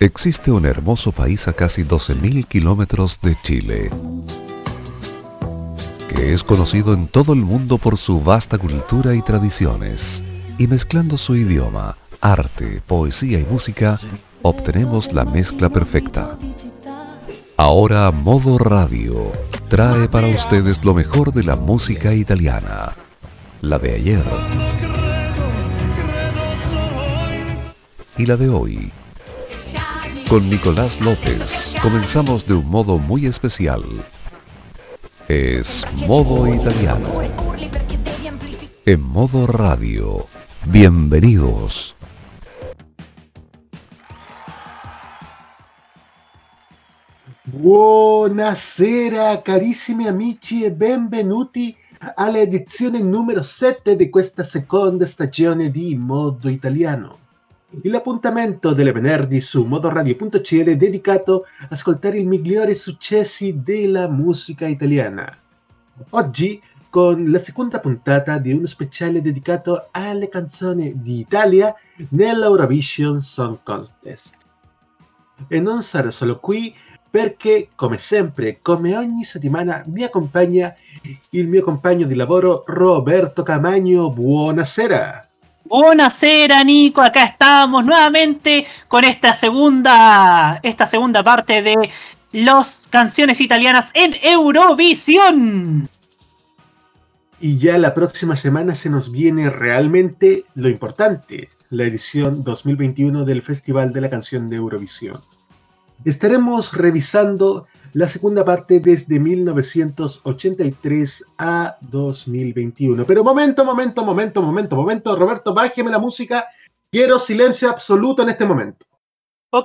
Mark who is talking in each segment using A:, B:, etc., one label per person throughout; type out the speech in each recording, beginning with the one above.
A: Existe un hermoso país a casi 12.000 kilómetros de Chile, que es conocido en todo el mundo por su vasta cultura y tradiciones, y mezclando su idioma, arte, poesía y música, obtenemos la mezcla perfecta. Ahora Modo Radio trae para ustedes lo mejor de la música italiana, la de ayer y la de hoy. Con Nicolás López comenzamos de un modo muy especial. Es Modo Italiano. En Modo Radio. Bienvenidos.
B: Buonasera carissimi amici e benvenuti alla edizione numero 7 di questa seconda stagione di Modo Italiano. L'appuntamento delle venerdì su modoradio.cl dedicato a ascoltare i migliori successi della musica italiana. Oggi con la seconda puntata di uno speciale dedicato alle canzoni d'Italia nell'Eurovision Song Contest. E non sarò solo qui perché, come sempre, come ogni settimana, mi accompagna il mio compagno di lavoro Roberto Camaño. Buonasera.
C: Buonasera, Nico, acá estamos nuevamente con esta segunda parte de las canciones italianas en Eurovisión.
B: Y ya la próxima semana se nos viene realmente lo importante, la edición 2021 del Festival de la Canción de Eurovisión. Estaremos revisando la segunda parte desde 1983 a 2021. Pero momento, Roberto, bájeme la música. Quiero silencio absoluto en este momento.
C: Ok.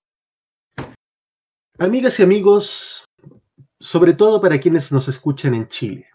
B: Amigas y amigos, sobre todo para quienes nos escuchan en Chile.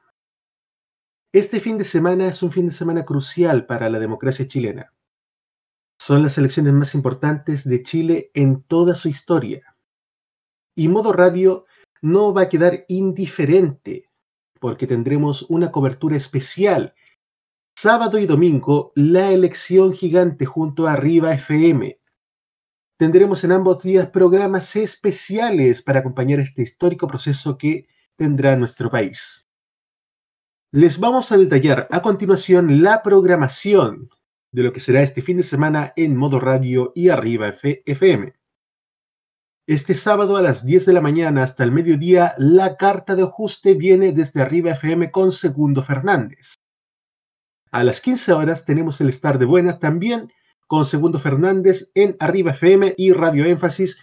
B: Este fin de semana es un fin de semana crucial para la democracia chilena. Son las elecciones más importantes de Chile en toda su historia. Y Modo Radio no va a quedar indiferente, porque tendremos una cobertura especial. Sábado y domingo, la elección gigante junto a Arriba FM. Tendremos en ambos días programas especiales para acompañar este histórico proceso que tendrá nuestro país. Les vamos a detallar a continuación la programación de lo que será este fin de semana en Modo Radio y Arriba FM. Este sábado a las 10 de la mañana hasta el mediodía, la carta de ajuste viene desde Arriba FM con Segundo Fernández. A las 15 horas tenemos el Estar de Buenas también con Segundo Fernández en Arriba FM y Radio Énfasis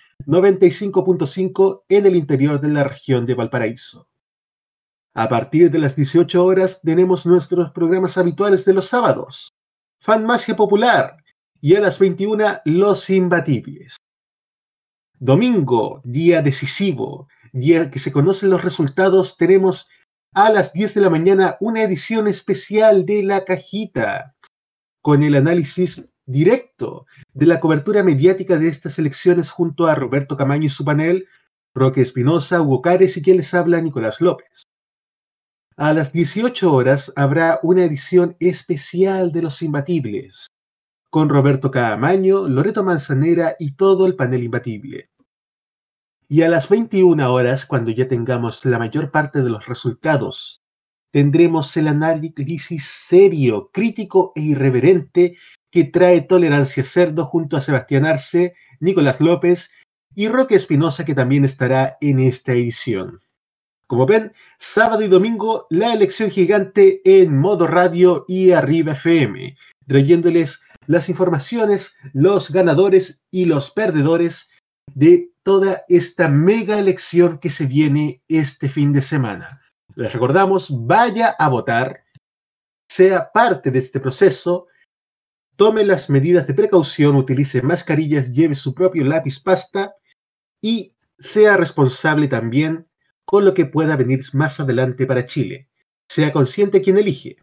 B: 95.5 en el interior de la región de Valparaíso. A partir de las 18 horas tenemos nuestros programas habituales de los sábados. Fanmacia Popular y a las 21 Los Imbatibles. Domingo, día decisivo, día que se conocen los resultados, tenemos a las 10 de la mañana una edición especial de La Cajita, con el análisis directo de la cobertura mediática de estas elecciones junto a Roberto Camaño y su panel, Roque Espinosa, Hugo Cares y quien les habla, Nicolás López. A las 18 horas habrá una edición especial de Los Imbatibles, con Roberto Camaño, Loreto Manzanera y todo el panel imbatible. Y a las 21 horas, cuando ya tengamos la mayor parte de los resultados, tendremos el análisis serio, crítico e irreverente que trae Tolerancia Cerdo junto a Sebastián Arce, Nicolás López y Roque Espinosa, que también estará en esta edición. Como ven, sábado y domingo, la elección gigante en Modo Radio y Arriba FM, trayéndoles las informaciones, los ganadores y los perdedores de toda esta mega elección que se viene este fin de semana. Les recordamos, vaya a votar, sea parte de este proceso, tome las medidas de precaución, utilice mascarillas, lleve su propio lápiz pasta y sea responsable también con lo que pueda venir más adelante para Chile. Sea consciente quien elige.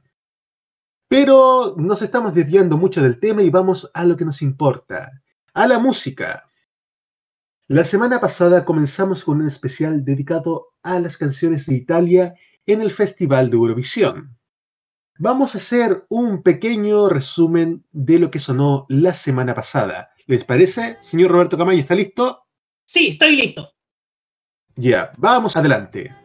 B: Pero nos estamos desviando mucho del tema y vamos a lo que nos importa, a la música. La semana pasada comenzamos con un especial dedicado a las canciones de Italia en el Festival de Eurovisión. Vamos a hacer un pequeño resumen de lo que sonó la semana pasada, ¿Les parece? Señor Roberto Camaño, ¿está listo?
C: Sí, estoy listo.
B: Ya, vamos adelante.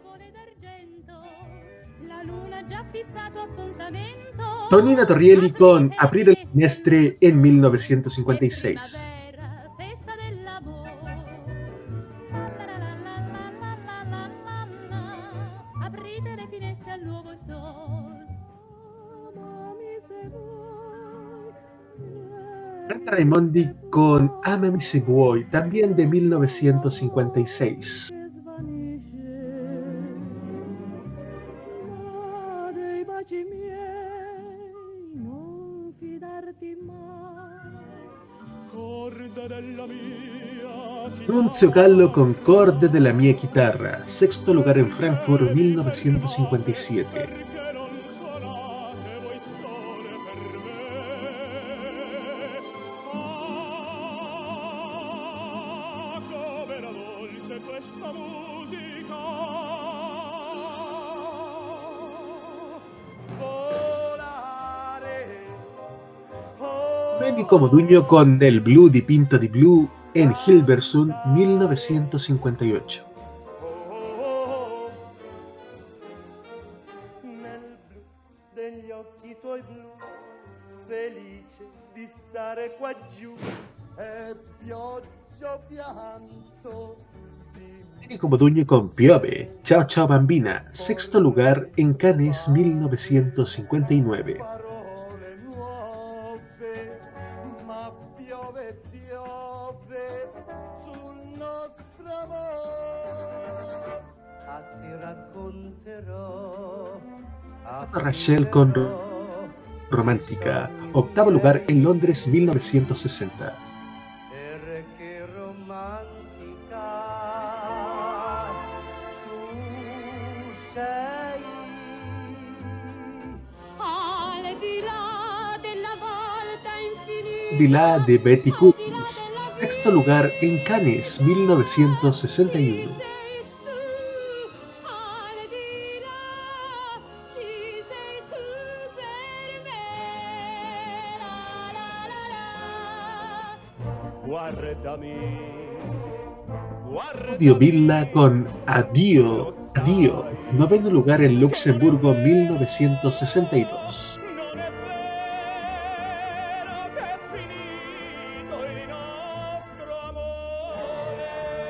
B: Tonina Torrielli con Aprire le finestre en 1956. Franca Raimondi con Amami se vuoi, también de 1956. Nunzio Gallo con Corde della mia chitarra, sexto lugar en Frankfurt 1957. Domenico Modugno con El blu dipinto di blu en Hilversum 1958.
D: Nel blu degli occhi tuoi blu, felice di stare qua giù, e pioggia o pianto.
B: Domenico Modugno con Piove, Ciao Ciao Bambina, sexto lugar en Cannes 1959.
D: Parole nuove, ma piove, piove sul nostro amor. A ti racconterò.
B: Rachel con Romántica, octavo lugar en Londres 1960.
D: Perché romantica tu sei.
E: Al di là della volta infinita.
B: Di là de Betty Curtis, sexto lugar en Cannes 1961.
E: Sei tu, al di là, ci sei tu per me. La la la la.
D: Guardami,
B: Claudio Villa con Addio, Addio, noveno lugar en Luxemburgo 1962.
D: non è vero che è finito il nostro amore.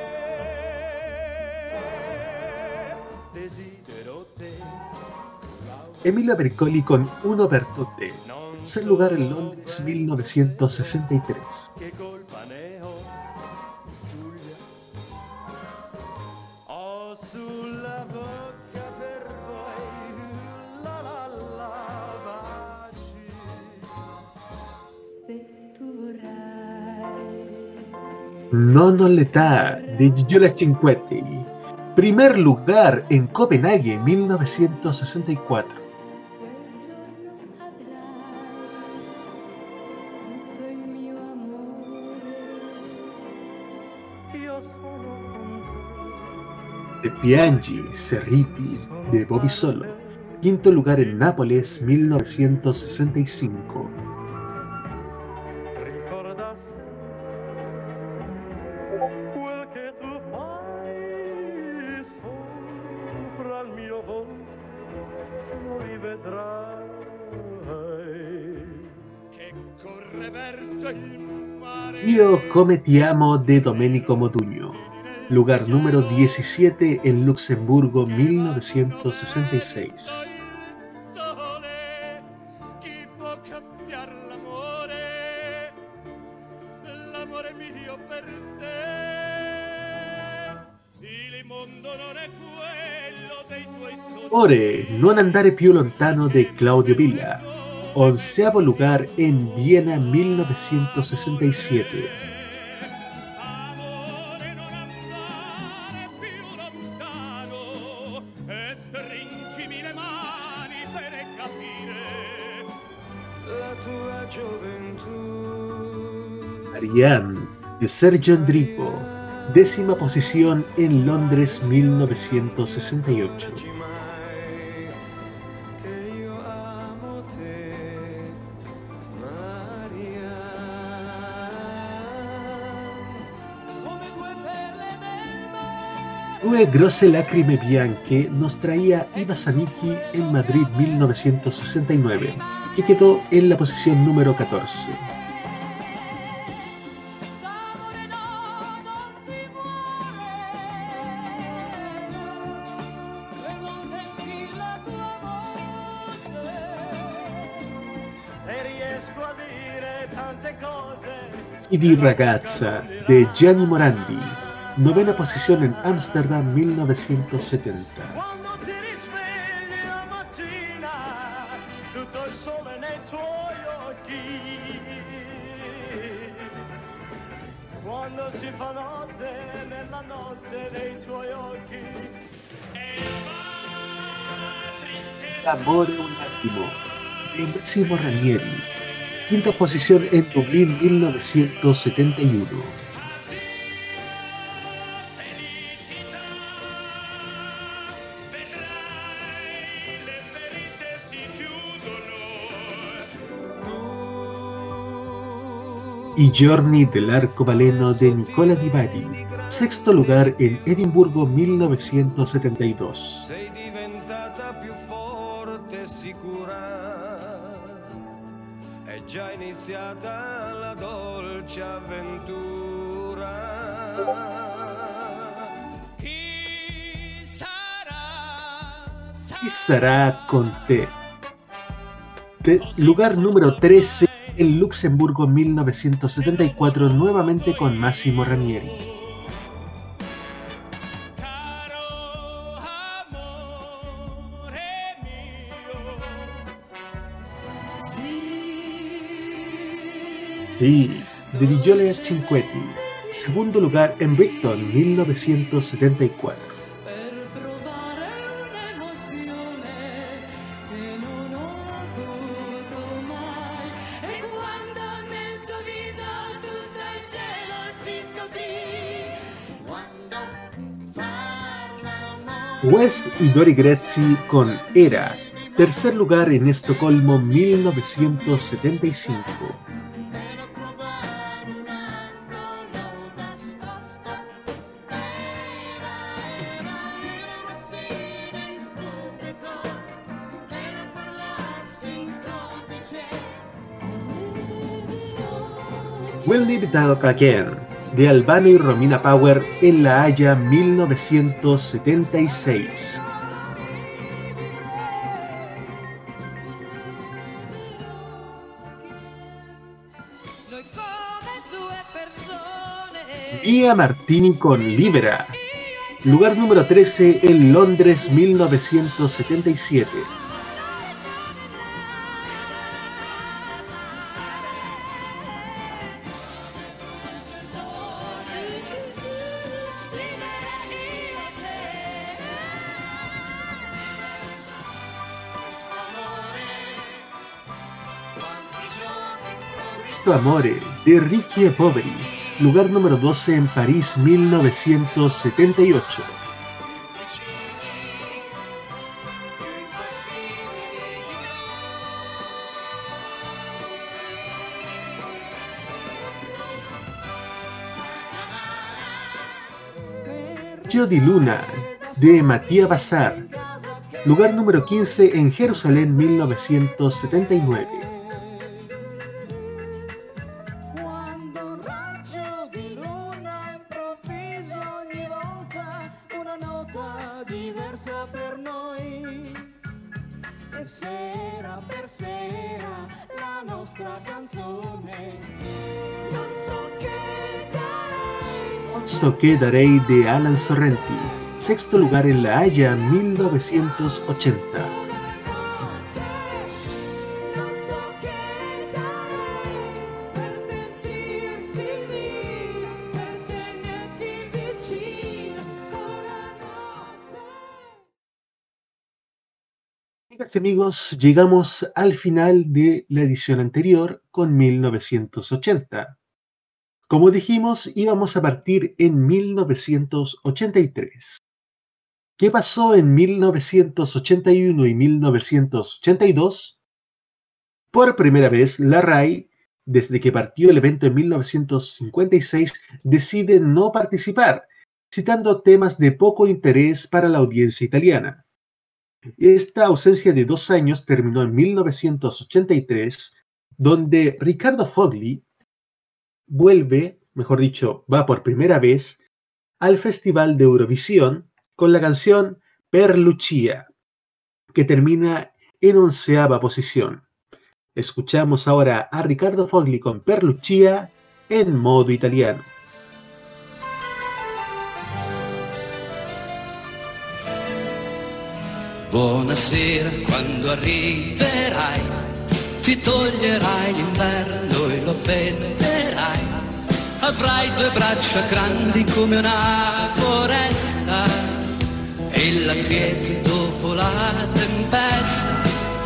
D: Desidero te.
B: Emilio Pericoli con Uno per tutte, tercer lugar en Londres 1963.
D: Che colpa ne ho, Giulia? Ho sulla bocca per voi la la la baci.
E: Se tu vorrai.
B: Nono l'età de Gigliola Cinquetti, primer lugar en Copenhague 1964.
E: Tutto il mio amore.
D: Io sono con
B: De Piangi, Cerriti, de Bobby Solo, quinto lugar en Nápoles 1965.
D: te. Ricorda quel che tu fai sopra il mio volto, lo rivedrai che corre verso il mare.
B: Io come ti amo de Domenico Modugno, lugar número 17 en Luxemburgo 1966.
D: Il sole, chi può cambiare l'amore? L'amore mio per te. Il mondo non è quello dei tuoi sogni.
B: Ore, non andare più lontano de Claudio Villa, onceavo lugar en Viena 1967.
D: Amore, non andare più lontano e stringimi le mani per capire la tua gioventù.
B: Ariane, de Sergio Endrico, décima posición en Londres 1968.
D: Che io amo te, Maria.
B: Due grosse lacrime bianche nos traía Iva Zanicki en Madrid 1969, que quedó en la posición número 14.
E: D'amore no, non si muore. Devo sentir la tua voce.
D: E riesco a dire tante cose.
B: Chi di ragazza de Gianni Morandi, novena posición en Ámsterdam 1970.
D: Quando ti risvegli la mattina, tutto il sole nei tuoi occhi. Quando si fa notte, nella notte dei tuoi occhi.
B: Amore un attimo, de Massimo Ranieri, quinta posición en Dublín 1971. Y Giorni dell'Arcobaleno de Nicola Di Bari, sexto lugar en Edimburgo 1972.
F: Sei diventata più forte e sicura, è già iniziata la dolce avventura.
E: Chi sarà?
B: Y sarà con te. Lugar número 13 en Luxemburgo 1974, nuevamente con Massimo Ranieri.
E: Caro amore mio.
B: Sí, de Di Giole Cinquetti, segundo lugar en Brighton 1974.
E: Per provare un'emozione che non ho avuto mai. E quando nel suo viso tutto il cielo si scoprì. Quando far l'amore.
B: West y Dori Grezzi con Era, tercer lugar en Estocolmo 1975.
E: Per trovare un angolo nascosto. Era sera in pubblico. Era parlarsi in codice.
B: We'll Live It Up Again, de Albano y Romina Power en La Haya 1976.
E: Noi come due persone.
B: Via Martini con Libera, lugar número 13 en Londres 1977. Questo Amore, de Ricky e Poveri, lugar número 12 en París 1978. Gio di Luna, de Mattia Bazar, lugar número 15 en Jerusalén 1979.
D: Quando un raggio di luna improvviso ogni volta una nota diversa per noi. E sera per sera la nostra canzone. Non so che darei.
B: Posto que darei de Alan Sorrenti, sexto lugar en La Haya 1980.
D: Non so che darei per sentirti lì, per tenerti vicino sola notte.
B: Amigas y amigos, llegamos al final de la edición anterior con 1980. Como dijimos, íbamos a partir en 1983. ¿Qué pasó en 1981 y 1982? Por primera vez, la RAI, desde que partió el evento en 1956, decide no participar, citando temas de poco interés para la audiencia italiana. Esta ausencia de 2 años terminó en 1983, donde Riccardo Fogli vuelve, mejor dicho, va por primera vez al Festival de Eurovisión con la canción Per Lucia, que termina en 11ª posición. Escuchamos ahora a Riccardo Fogli con Per Lucia en modo italiano.
G: Buonasera, quando arriverai, ti toglierai l'inverno e lo appenderai. Avrai 2 braccia grandi come una foresta e la quiete dopo la tempesta.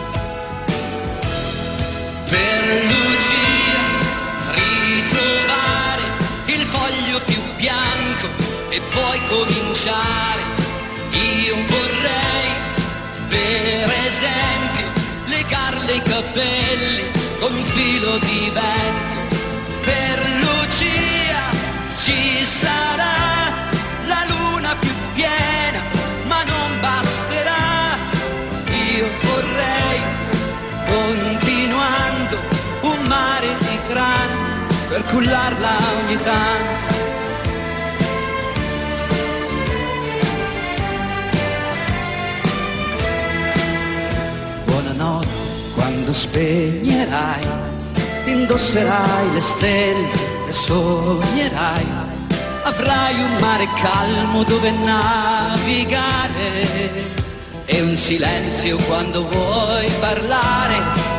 G: Per Lucia ritrovare il foglio più bianco e poi cominciare. Io vorrei, per esempio, legarle i capelli con un filo di vento. Per Lucia ci sarà la luna più piena, ma non basterà. Io vorrei, continuando, un mare di grani per cullarla ogni tanto. Buonanotte, quando spegnerai, indosserai le stelle e sognerai. Avrai un mare calmo dove navigare e un silenzio quando vuoi parlare.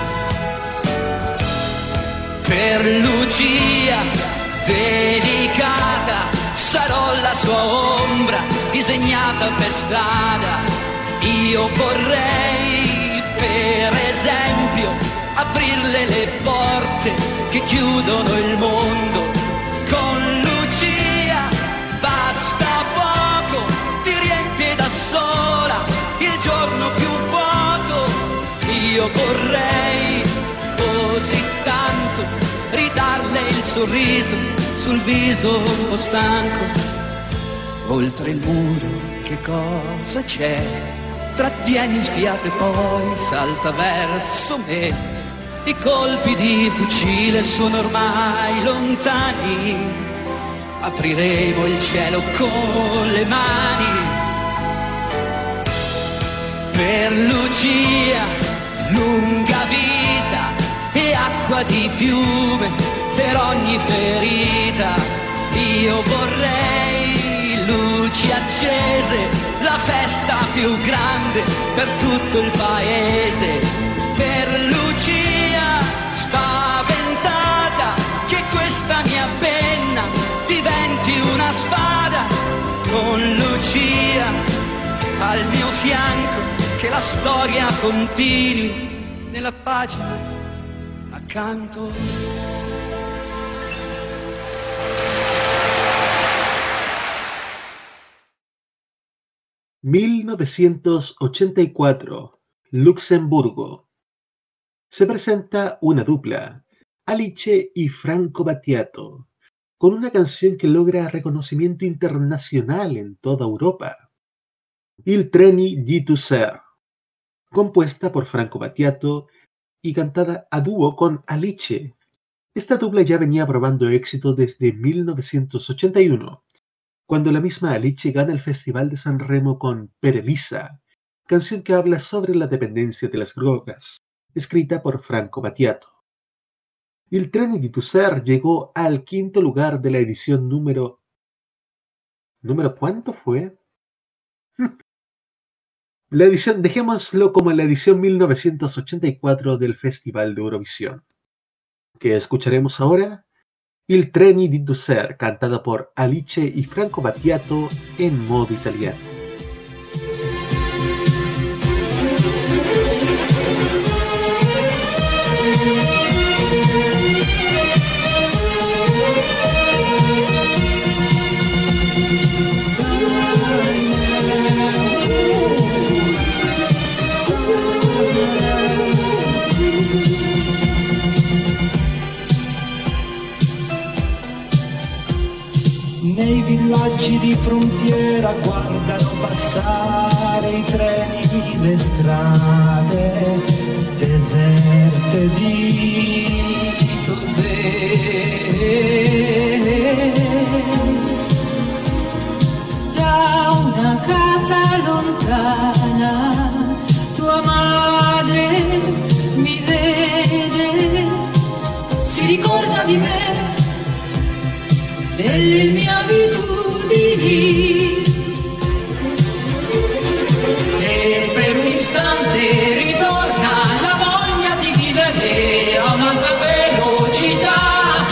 G: Per Lucia delicata sarò la sua ombra disegnata per strada. Io vorrei, per esempio, aprirle le porte che chiudono il mondo. Con Lucia basta poco, ti riempie da sola il giorno più vuoto. Io vorrei così tanto ridarle il sorriso sul viso un po' stanco. Oltre il muro che cosa c'è? Trattieni il fiato e poi salta verso me. I colpi di fucile sono ormai lontani. Apriremo il cielo con le mani. Per Lucia, lunga vita e acqua di fiume per ogni ferita. Io vorrei luci accese, la festa più grande per tutto il paese. Per Lucia spaventata, che questa mia penna diventi una spada. Con Lucia al mio fianco, che la storia continui nella pagina accanto.
B: 1984, Luxemburgo. Se presenta una dupla, Alice y Franco Battiato, con una canción que logra reconocimiento internacional en toda Europa. Il treni di Tusser, compuesta por Franco Battiato y cantada a dúo con Alice. Esta dupla ya venía probando éxito desde 1981, cuando la misma Alice gana el Festival de San Remo con Per Elisa, canción que habla sobre la dependencia de las drogas, escrita por Franco Battiato. Il treni di Tusser llegó al 5º lugar de la edición ¿Número cuánto fue? La edición, dejémoslo como la edición 1984 del Festival de Eurovisión. Que escucharemos ahora, Il treni di Tusser, cantada por Alice y Franco Battiato en modo italiano.
H: Nei Nei villaggi di frontiera guardano passare i treni, le strade deserte di Tosè.
E: Da una casa lontana tua madre mi vede, si ricorda di me, delle mie abitudini,
H: E per un istante ritorna la voglia di vivere a un'alta velocità.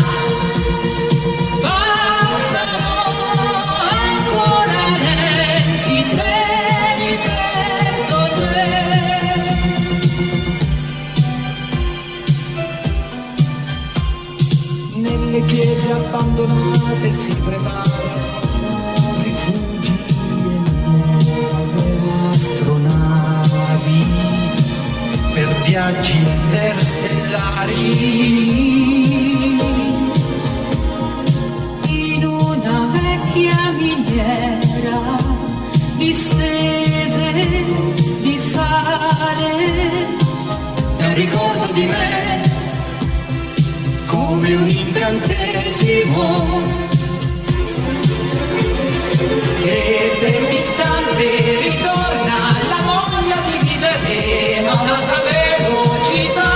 E: passano ancora lenti treni per Tosè.
H: Nelle chiese abbandonate si preparano rifugi e nuove astronavi per viaggi interstellari.
E: In una vecchia miniera distese di sale,
H: È un ricordo di me come un incantesimo, e per un istante ritorna la voglia di vivere a un'altra velocità.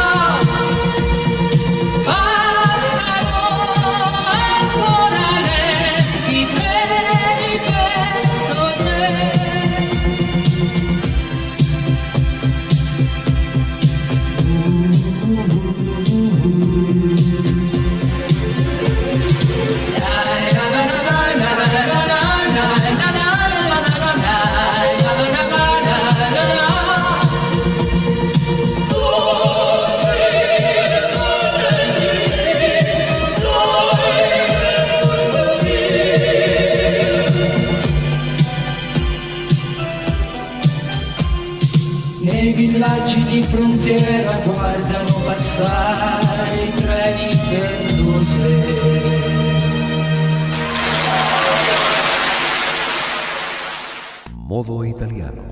E: passano ancora lenti treni per Tosè.
H: Nei villaggi di frontiera guardano passare i treni per Tosè.
A: Modo italiano.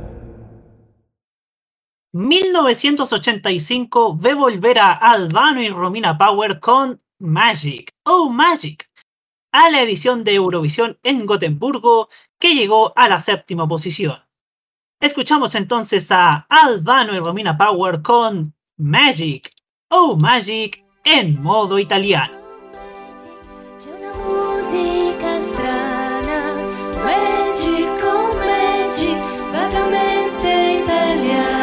C: 1985 ve volver a Albano y Romina Power con Magic, oh Magic, a la edición de Eurovisión en Gotemburgo, que llegó a la 7ª posición. Escuchamos entonces a Albano y Romina Power con Magic, oh Magic, en modo italiano.
I: C'è una musica strana, magic, oh magic, vagamente italiana.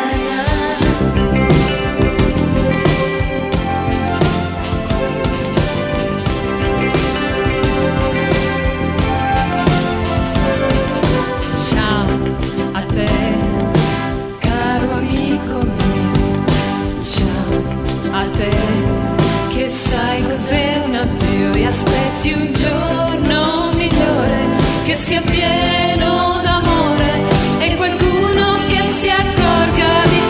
E: Ciao a te, caro amico mio, ciao a te, che sai cos'è un addio e aspetti un giorno migliore, che sia pieno d'amore e qualcuno che si accorga di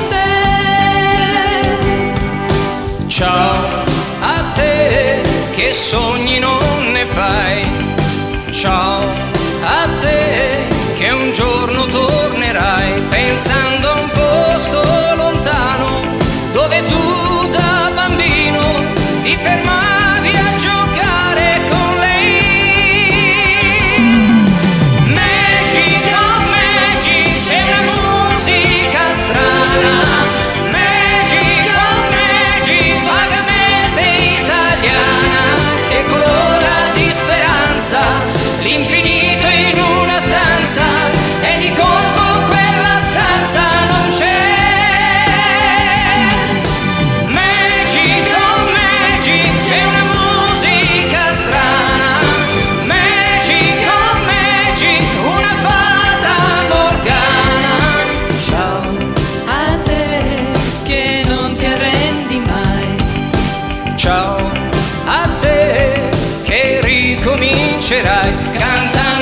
E: te.
F: Ciao a te che sogni non ne fai. Ciao a te che un giorno tornerai pensando a un posto lontano dove tu da bambino ti fermavi a giocare con lei. Magic, oh magic, c'è una musica strana. Magic, oh magic, vagamente italiana, e colora di speranza l'infinito in una stanza, e di colpo quella stanza non c'è. Magic, oh magic, c'è una musica strana. Magic, oh magic, una fata morgana.
E: Ciao a te che non ti arrendi mai.
F: Ciao a te che ricomincerai cantando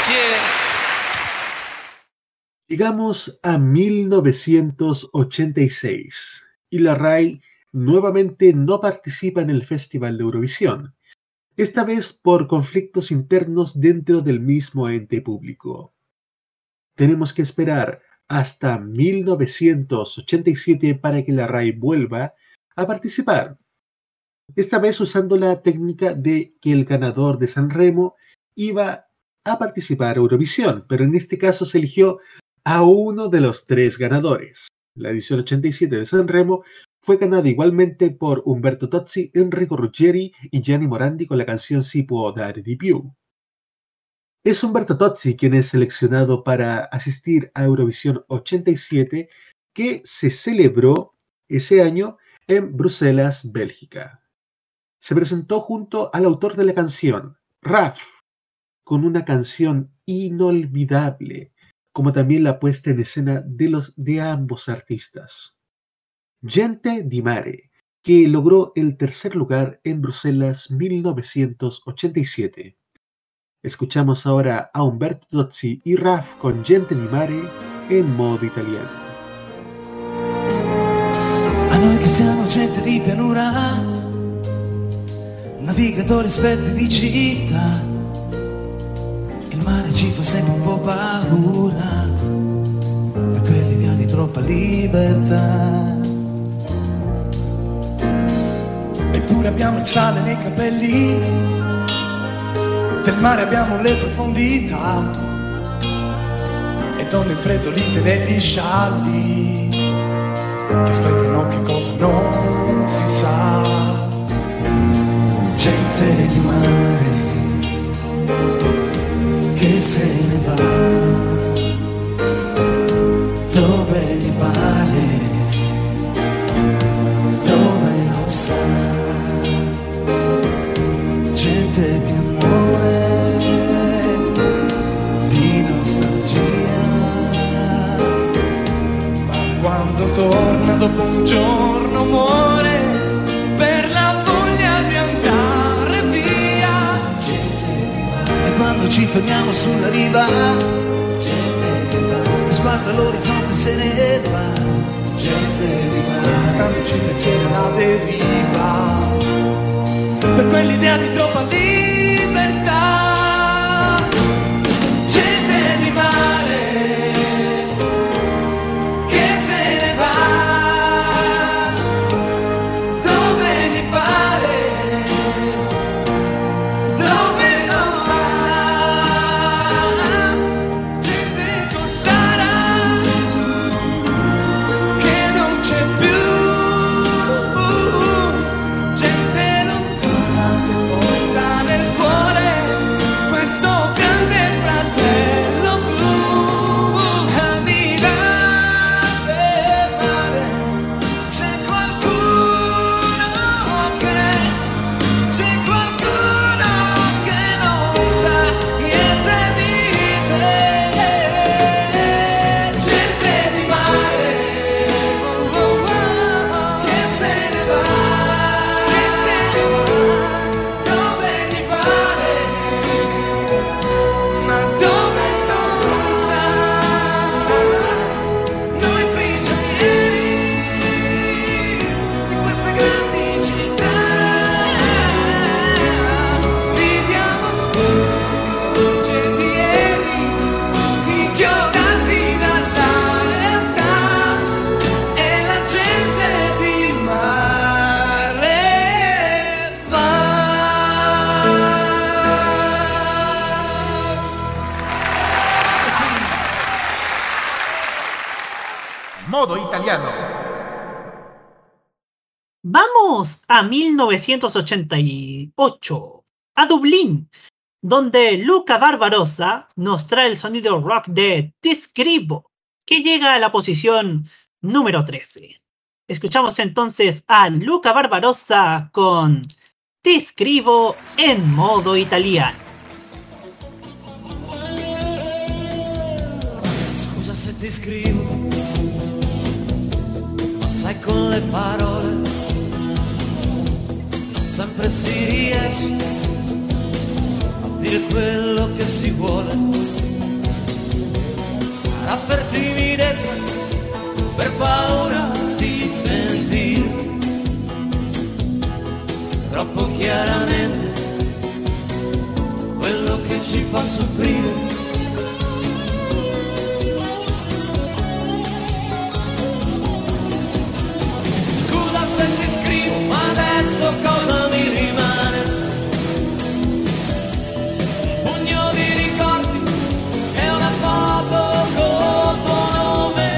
F: Grazie.
B: Llegamos a 1986 y la RAI nuevamente no participa en el Festival de Eurovisión, esta vez por conflictos internos dentro del mismo ente público. Tenemos que esperar hasta 1987 para que la RAI vuelva a participar, esta vez usando la técnica de que el ganador de San Remo iba a participar a Eurovisión, pero en este caso se eligió a uno de los 3 ganadores. La edición 87 de San Remo fue ganada igualmente por Umberto Tozzi, Enrico Ruggeri y Gianni Morandi con la canción Si può dare di più. Es Umberto Tozzi quien es seleccionado para asistir a Eurovisión 87, que se celebró ese año en Bruselas, Bélgica. Se presentó junto al autor de la canción, Raf, con una canción inolvidable, como también la puesta en escena de ambos artistas. Gente di Mare, que logró el tercer lugar en Bruselas 1987. Escuchamos ahora a Umberto Tozzi y Raf con Gente di Mare en modo italiano.
J: A noi che siamo gente di pianura, navigatori esperti di città, il mare ci fa sempre un po' paura, per quell'idea di troppa libertà. Eppure abbiamo il sale nei capelli, del mare abbiamo le profondità, e donne infreddolite negli scialli, che aspettano che cosa non si sa. Gente di mare che se ne va dove gli pare, dove non sa. Gente che muore di nostalgia, ma quando torna dopo un giorno muore per la voglia di andare via. E quando ci fermiamo sulla riva, lo sguardo all'orizzonte se ne va. Portandoci il pensiero alla deriva, per quell'idea di troppa libertà. Gente di mare che se ne va dove gli pare, dove non sa. Gente con Sara che non c'è più, gente lontana che porta nel cuore questo grande fratello blu. Al di là del mare c'è qualcuno che non sa niente di te. Gente di mare che se ne va dove gli pare, ma dove non si sa. Noi prigionieri di queste grandi città viviamo sfuggentieri, inchiodati dalla realtà, e la gente di mare va.
K: Modo italiano.
C: Vamos a 1988, a Dublín, donde Luca Barbarossa nos trae el sonido rock de Ti scrivo, que llega a la posición número 13. Escuchamos entonces a Luca Barbarossa con Ti scrivo en modo italiano.
J: Scusa se ti scrivo, ma sai con le parole non sempre si riesce a dire quello che si vuole. l'amore ci fa soffrire. Scusa se ti scrivo, ma adesso cosa mi rimane? Un pugno di ricordi e una foto con tuo nome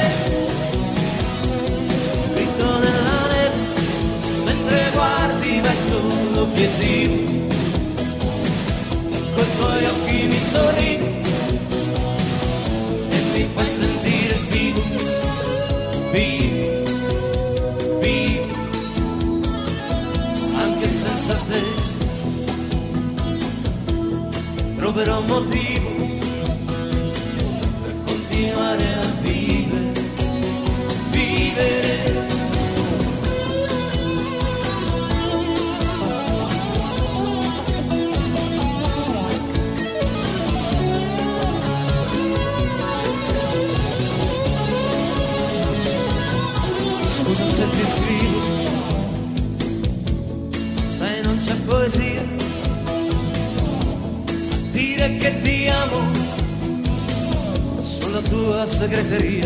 J: scritto nella neve mentre guardi verso l'obiettivo. Con i tuoi occhi mi sorridi e mi fai sentire vivo, vivo, vivo, anche senza te. Troverò un motivo per continuare a vivere, vivere. Scusa se ti scrivo, sai non c'è poesia a dire che ti amo sulla tua segreteria.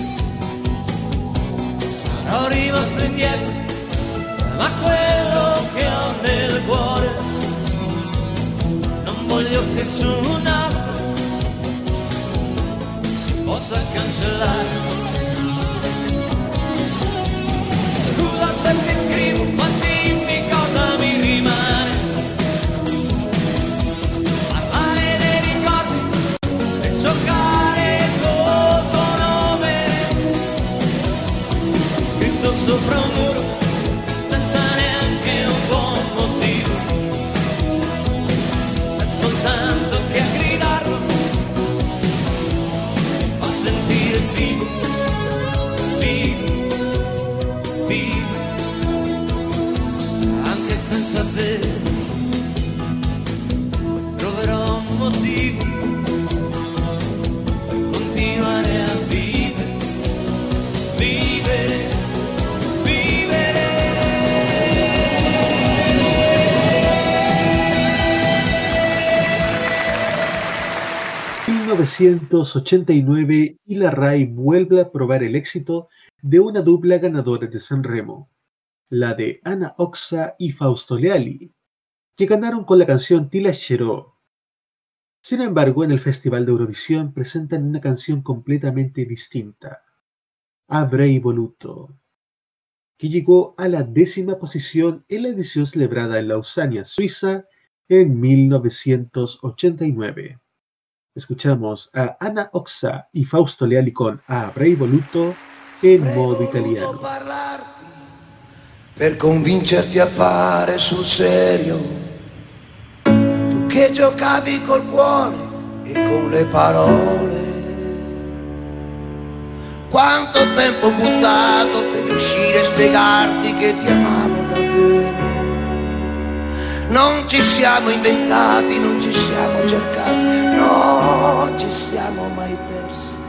J: Sarò rimasto indietro, ma quello che ho nel cuore non voglio che su un nastro si possa cancellare. Scusa se ti scrivo, ma dimmi cosa mi rimane. Parlare dei ricordi e giocare col tuo nome scritto sopra un muro senza neanche un buon motivo. È soltanto che a gridarlo mi fa sentire vivo, vivo, vivo, anche senza te. Troverò un motivo per continuare a vivere, vivere, vivere.
B: 1989 y la RAI vuelve a probar el éxito de una dupla ganadora de Sanremo, la de Anna Oxa y Fausto Leali, que ganaron con la canción Ti lascerò. Sin embargo, en el Festival de Eurovisión presentan una canción completamente distinta, Avrei voluto, que llegó a la 10ª posición en la edición celebrada en Lausania, Suiza, en 1989. Escuchamos a Anna Oxa y Fausto Leali con Avrei voluto en modo italiano.
L: Per convincerti a fare sul serio, tu che giocavi col cuore e con le parole. Quanto tempo buttato per riuscire a spiegarti che ti amavo davvero. Non ci siamo inventati, non ci siamo cercati, non ci siamo mai persi.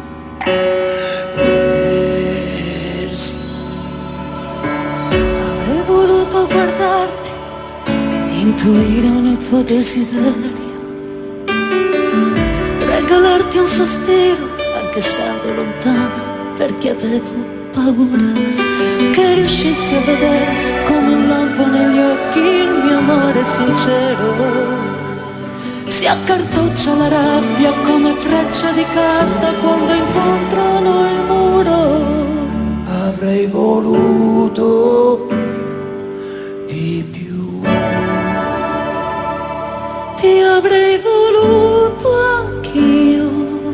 E: Avrei voluto guardarti, intuire ogni tuo desiderio, regalarti un sospiro anche stando lontana, perché avevo paura che riuscissi a vedere come un lampo negli occhi il mio amore sincero. Si accartoccia la rabbia come freccia di carta quando incontrano il muro.
L: Avrei voluto di più,
E: ti avrei voluto anch'io.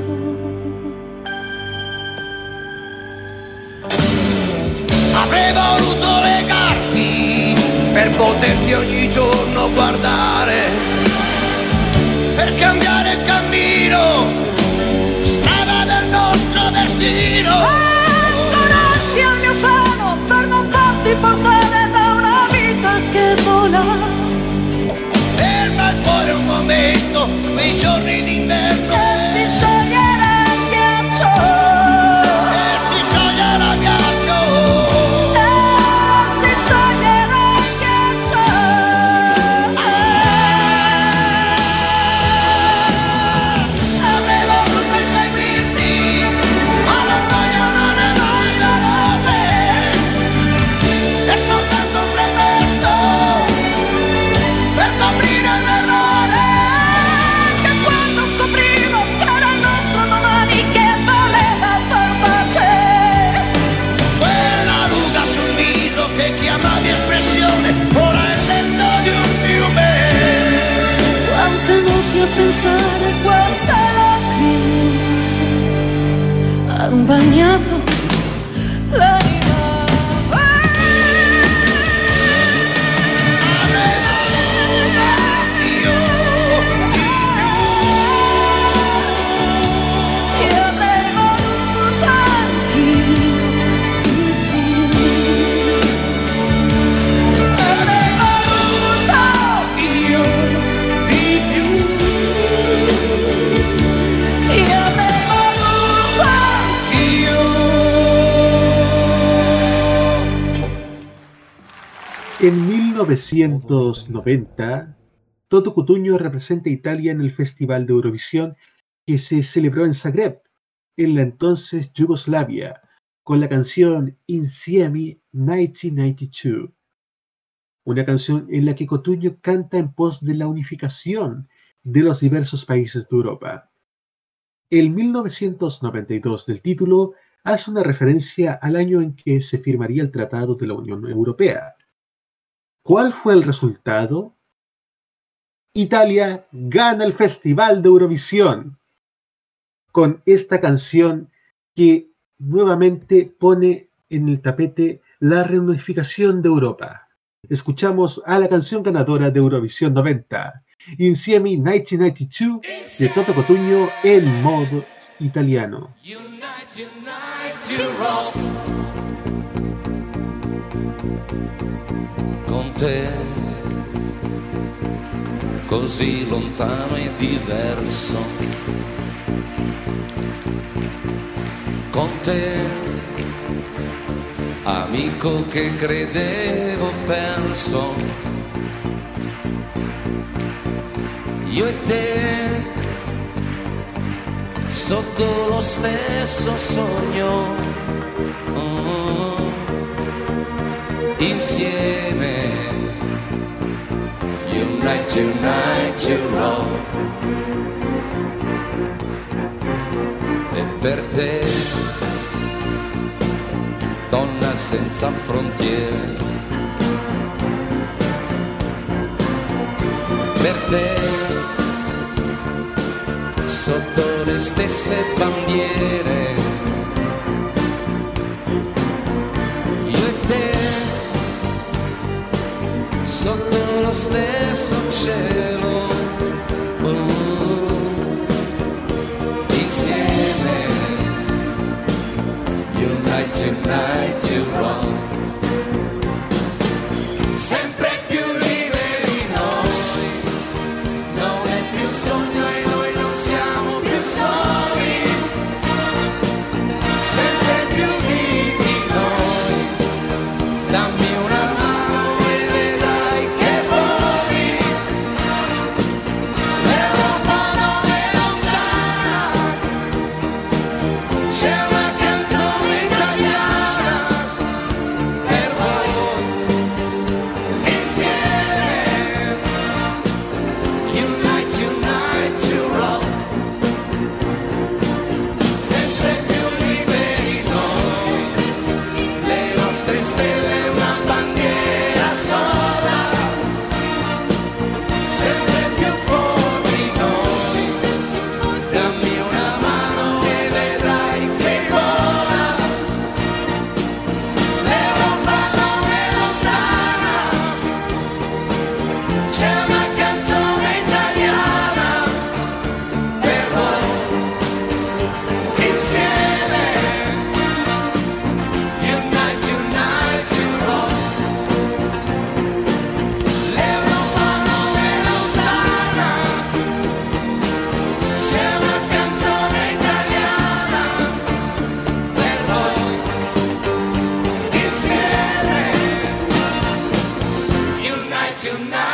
L: avrei voluto legarti per poterti ogni giorno guardare, per cambiare il cammino, strada del nostro destino.
E: Tornarti al mio seno per non farti portare
B: En 1990, Toto Cutugno representa a Italia en el Festival de Eurovisión que se celebró en Zagreb, en la entonces Yugoslavia, con la canción Insieme 1992, una canción en la que Cutugno canta en pos de la unificación de los diversos países de Europa. El 1992 del título hace una referencia al año en que se firmaría el Tratado de la Unión Europea. ¿Cuál fue el resultado? Italia gana el Festival de Eurovisión con esta canción que nuevamente pone en el tapete la reunificación de Europa. Escuchamos a la canción ganadora de Eurovisión 90, Insieme 1992, de Toto Cutugno en modo italiano.
M: Con te, così lontano e diverso, con te, amico che credevo perso, io e te, sotto lo stesso sogno, insieme, unite, roll. E per te, donna senza frontiere, per te, sotto le stesse bandiere, io e te, sotto lo stesso cielo, insieme, unite, roll. Sempre più liberi noi, non è più un sogno e noi non siamo più soli, sempre più vivi noi, dammi una mano e vedrai che voli, l'Europa non è lontana, c'è una canzone italiana per voi, insieme, unite, roll. Sempre più liberi noi, le nostre stelle una bandiera sola, sempre più forti noi, dammi una mano e vedrai che vola, l'Europa non è lontana, c'è una canzone italiana per voi, insieme, unite, roll. L'Europa non è lontana, c'è una canzone italiana per voi, insieme, unite,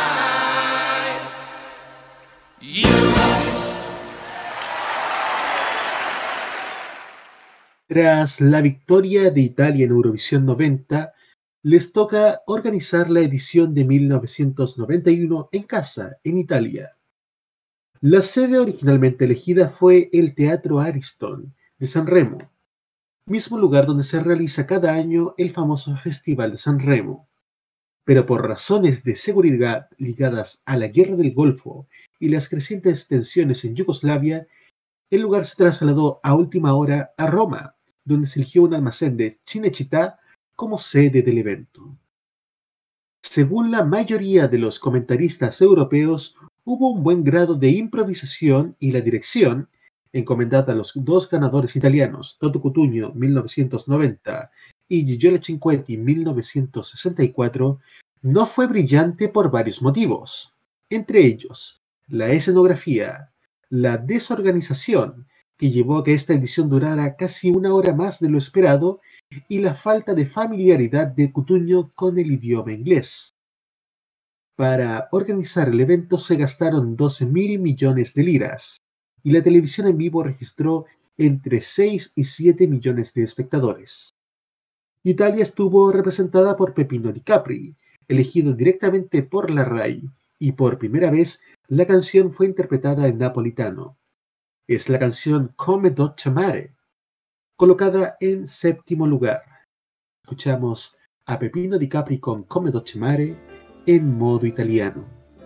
B: Tras la victoria de Italia en Eurovisión 90, les toca organizar la edición de 1991 en casa, en Italia. La sede originalmente elegida fue el Teatro Ariston de Sanremo, mismo lugar donde se realiza cada año el famoso Festival de Sanremo. Pero por razones de seguridad ligadas a la Guerra del Golfo y las crecientes tensiones en Yugoslavia, el lugar se trasladó a última hora a Roma, donde se eligió un almacén de Cinecittà como sede del evento. Según la mayoría de los comentaristas europeos, hubo un buen grado de improvisación y la dirección, encomendada a los dos ganadores italianos, Toto Cutugno 1990 y Gigiola Cinquetti 1964, no fue brillante por varios motivos, entre ellos la escenografía, la desorganización que llevó a que esta edición durara casi una hora más de lo esperado, y la falta de familiaridad de Cutugno con el idioma inglés. Para organizar el evento se gastaron 12.000 millones de liras y la televisión en vivo registró entre 6 y 7 millones de espectadores. Italia estuvo representada por Peppino Di Capri, elegido directamente por la RAI, y por primera vez la canción fue interpretada en napolitano. Es la canción Come Dolce Mare, colocada en 7º lugar. Escuchamos a Peppino Di Capri con Come Dolce Mare en modo italiano.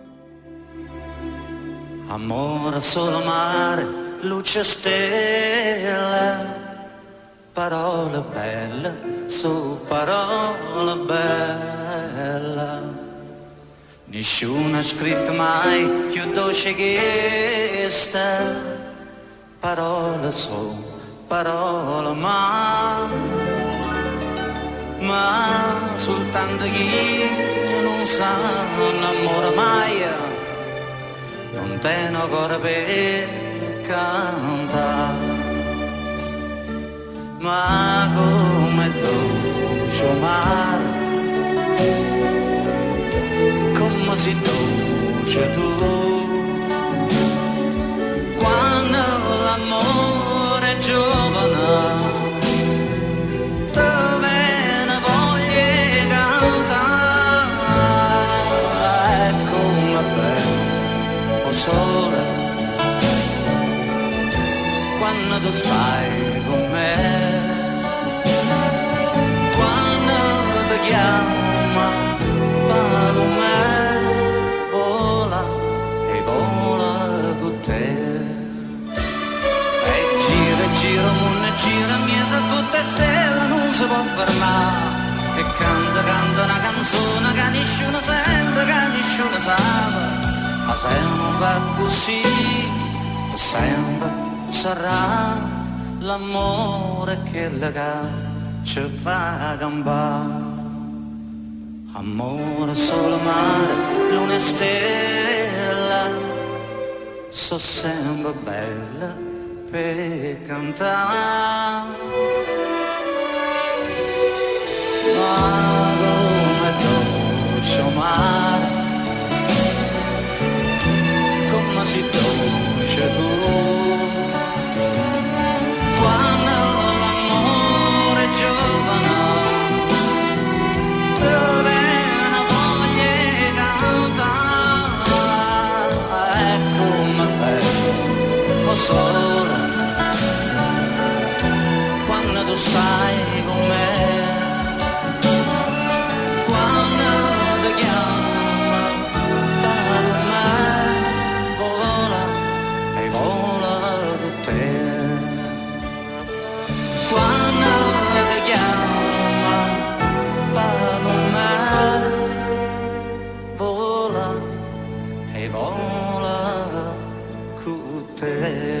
J: Amore solo mare, luce stella, parole belle, su parole belle. Nessuno ha scritto mai più dolce che questa, parole su parole ma soltanto chi non sa non amore mai, non tengo cuore per cantare, ma come dolce mare, come si dolce tu, quando l'amore è giovane, dove ne voglio cantare, è come bello sole, quando tu stai con me, quando ti chiama con me, vola e vola con te, e gira, mondo gira, miesa tutte stelle, non si può fermare, e canta una canzone che nessuno sente, che nessuno sa, ma sempre così, sempre sarà l'amore che ci fa gambare. Amore solo mare, luna e stella, so sempre bella per cantare. Ma come dolce mare, come si dolce tu, quando l'amore è giovane, dove ne voglio cantare, è come bello sole, quando tu stai con me, quando ti chiama per me, vola e vola con te, quando ti chiama per me, vola e vola con te.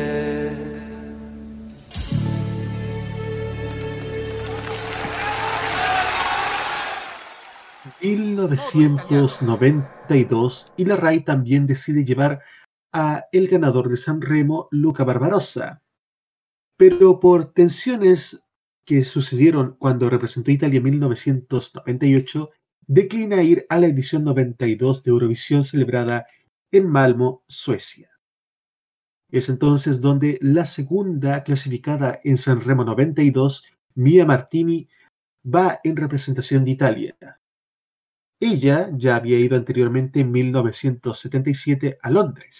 B: 1992 y la RAI también decide llevar a el ganador de Sanremo, Luca Barbarossa. Pero por tensiones que sucedieron cuando representó a Italia en 1998, declina ir a la edición 92 de Eurovisión celebrada en Malmö, Suecia. Es entonces donde la segunda clasificada en Sanremo 92, Mia Martini, va en representación de Italia. Ella ya había ido anteriormente en 1977 a Londres.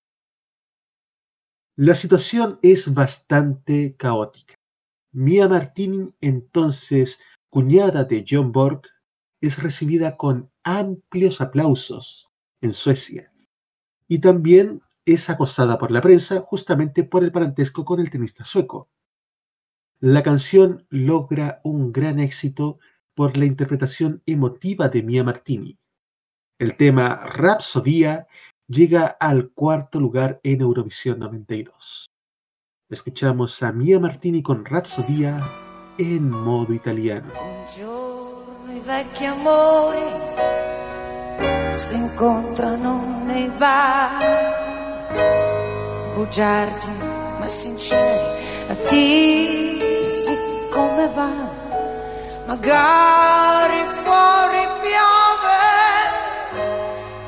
B: La situación es bastante caótica. Mia Martini, entonces cuñada de Björn Borg, es recibida con amplios aplausos en Suecia y también es acosada por la prensa justamente por el parentesco con el tenista sueco. La canción logra un gran éxito por la interpretación emotiva de Mia Martini. El tema Rapsodia llega al 4º lugar en Eurovisión 92. Escuchamos a Mia Martini con Rapsodia en modo italiano.
N: Un giorno i vecchi amori si incontrano nei bar, bugiardi ma sinceri, attesi come va. Magari fuori piove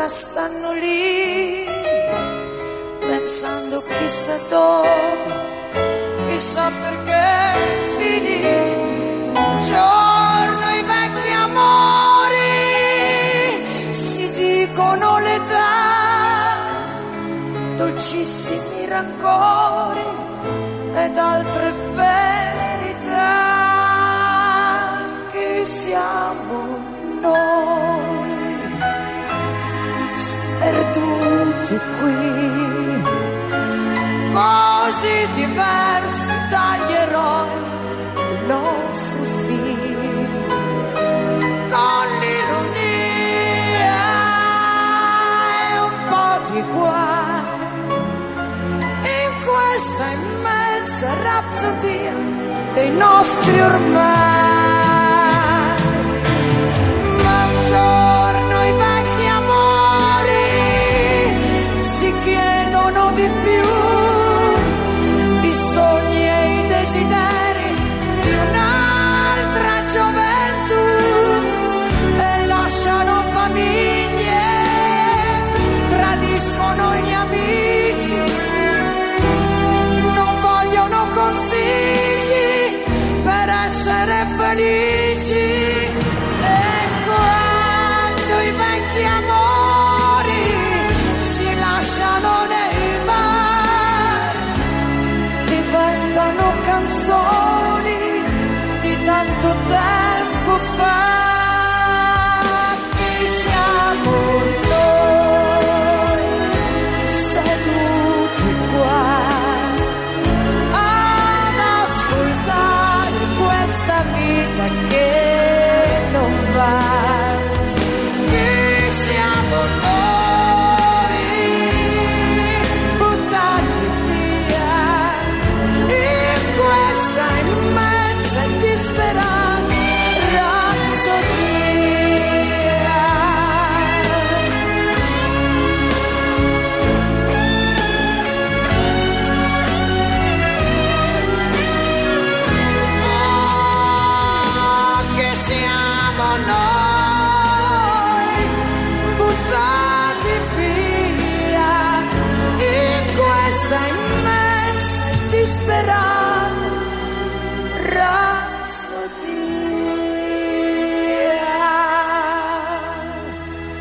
N: ora stanno lì, pensando chissà dove, chissà perché finì. Un giorno i vecchi amori si dicono l'età, dolcissimi rancori ed altre verità. Che siamo noi, sperduti qui, così diversi dagli eroi del nostro film, con l'ironia e un po' di guai in questa immensa rapsodia dei nostri ormai. Ma un giorno i vecchi amori si chiedono di più, i sogni e i desideri di un'altra gioventù, e lasciano famiglie, tradiscono gli amici, non vogliono consigli per essere felici. E quando i vecchi amori si lasciano nei bar, diventano canzoni di tanto tempo fa. Chi siamo noi, seduti qua ad ascoltare questa vita che non va? Chi siamo noi, buttati via in questa immensa e disperata rapsodia? Che siamo noi, buttati via in questa immensa, disperata rapsodia.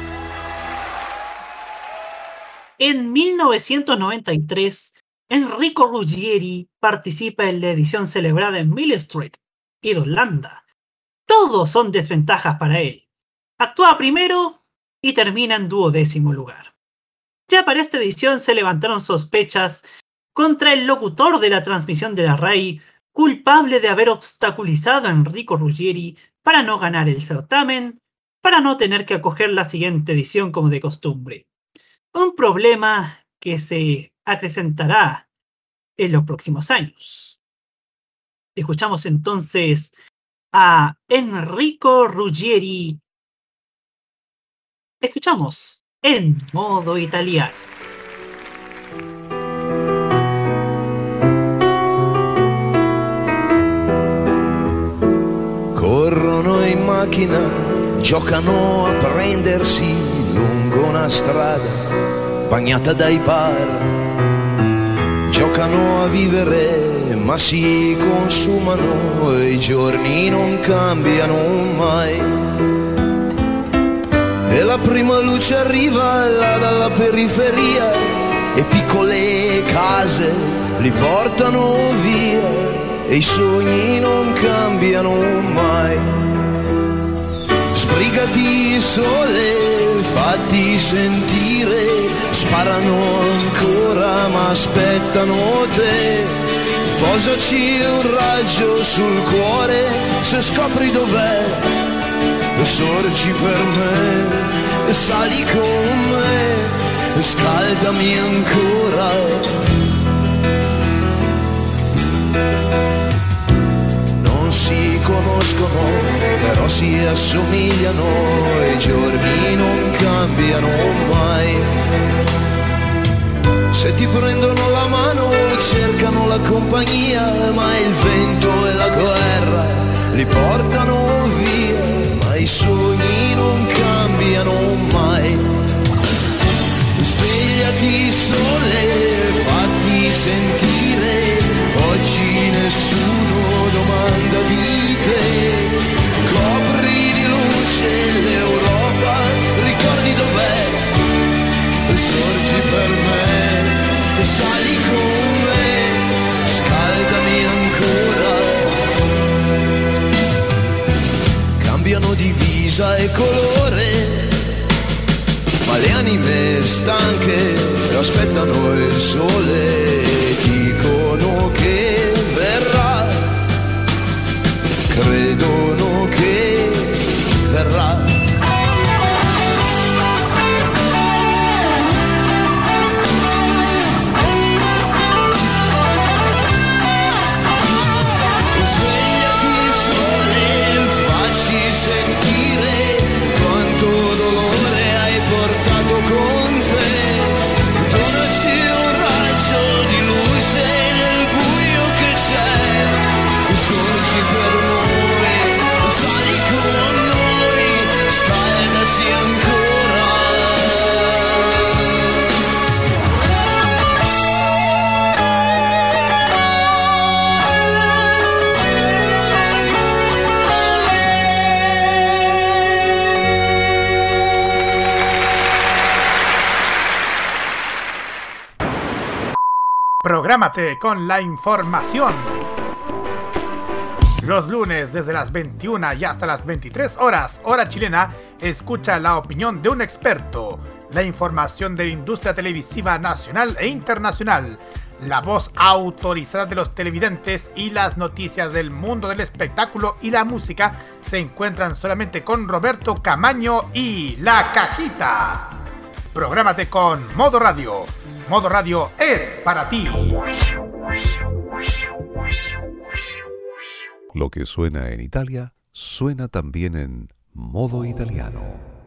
C: En 1993, Enrico Ruggieri participa en la edición celebrada en Mill Street, Irlanda. Todos son desventajas para él. Actúa primero y termina en 12º lugar. Ya para esta edición se levantaron sospechas contra el locutor de la transmisión de la RAI, culpable de haber obstaculizado a Enrico Ruggieri para no ganar el certamen, para no tener que acoger la siguiente edición como de costumbre. Un problema que se acrecentará en los próximos años. Escuchamos entonces a Enrico Ruggieri. Escuchamos en modo italiano.
O: Corrono in macchina, giocano a prendersi lungo una strada bagnata dai bar. Giocano a vivere ma si consumano e i giorni non cambiano mai. E la prima luce arriva là dalla periferia e piccole case li portano via e i sogni non cambiano mai. Sbrigati sole, fatti sentire, sparano ancora ma aspettano te. Posaci un raggio sul cuore, se scopri dov'è, sorgi per me, sali con me, scaldami ancora. Non si conoscono, però si assomigliano e i giorni non cambiano mai. Se ti prendono la mano cercano la compagnia, ma il vento e la guerra li portano via, ma i sogni non cambiano mai. Svegliati sole, fatti sentire, oggi nessuno domanda di te. Copri di luce l'Europa, ricordi dov'è? Sorgi per me, sali con me, scaldami ancora. Cambiano divisa e colore, ma le anime stanche aspettano il sole, dicono che verrà, credono che verrà. Svegliati sole, facci sentire quanto dolore hai portato con te. Donaci un raggio di luce nel buio che c'è. Sorgi per noi, sali con noi, scaldaci ancora.
K: Prográmate con la información. Los lunes desde las 21 y hasta las 23 horas, hora chilena, escucha la opinión de un experto, la información de la industria televisiva nacional e internacional, la voz autorizada de los televidentes y las noticias del mundo del espectáculo y la música se encuentran solamente con Roberto Camaño y La Cajita. Prográmate con Modo Radio. Modo Radio es para ti.
A: Lo que suena en Italia, suena también en Modo Italiano.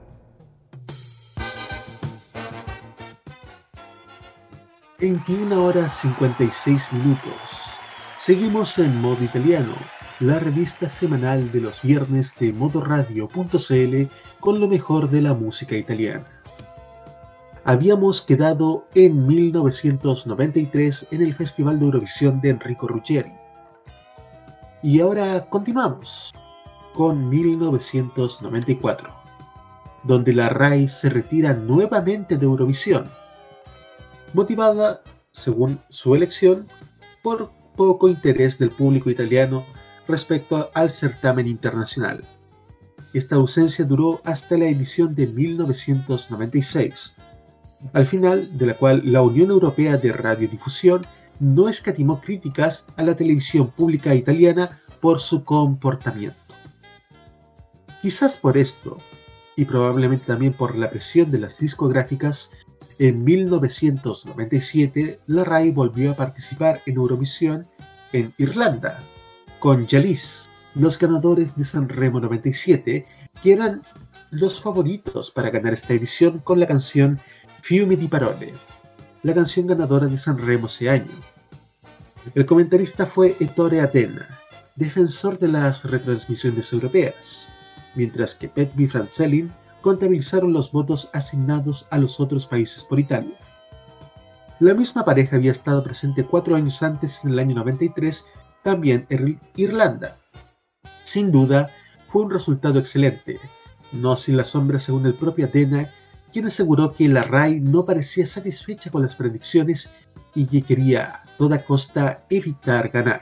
B: ...21:56. Seguimos en Modo Italiano, la revista semanal de los viernes de modoradio.cl con lo mejor de la música italiana. Habíamos quedado en 1993 en el Festival de Eurovisión de Enrico Ruggeri. Y ahora continuamos con 1994, donde la RAI se retira nuevamente de Eurovisión, motivada, según su elección, por poco interés del público italiano respecto al certamen internacional. Esta ausencia duró hasta la edición de 1996, al final de la cual la Unión Europea de Radiodifusión no escatimó críticas a la televisión pública italiana por su comportamiento. Quizás por esto, y probablemente también por la presión de las discográficas, en 1997 la RAI volvió a participar en Eurovisión en Irlanda, con Jalis, los ganadores de Sanremo 97, que eran los favoritos para ganar esta edición con la canción Fiumi di Parole, la canción ganadora de Sanremo ese año. El comentarista fue Ettore Atena, defensor de las retransmisiones europeas, mientras que Petvi y Franzelin contabilizaron los votos asignados a los otros países por Italia. La misma pareja había estado presente 4 años antes, en el año 93, también en Irlanda. Sin duda, fue un resultado excelente, no sin la sombra según el propio Atena, quien aseguró que la RAI no parecía satisfecha con las predicciones y que quería a toda costa evitar ganar.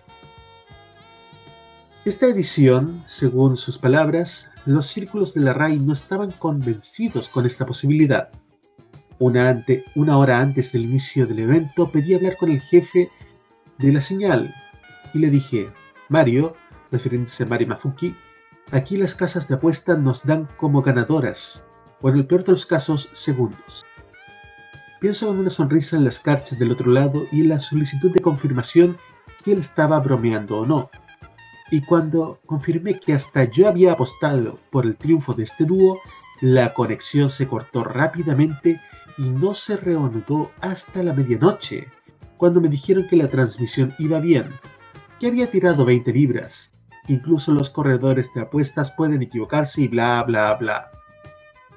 B: Esta edición, según sus palabras, los círculos de la RAI no estaban convencidos con esta posibilidad. Una hora antes del inicio del evento pedí hablar con el jefe de la señal y le dije: Mario, refiriéndose a Mari Mafucchi, aquí las casas de apuesta nos dan como ganadoras, o en el peor de los casos, segundos. Pienso con una sonrisa en las cartas del otro lado y en la solicitud de confirmación si él estaba bromeando o no. Y cuando confirmé que hasta yo había apostado por el triunfo de este dúo, la conexión se cortó rápidamente y no se reanudó hasta la medianoche, cuando me dijeron que la transmisión iba bien, que había tirado 20 libras, incluso los corredores de apuestas pueden equivocarse y bla bla bla.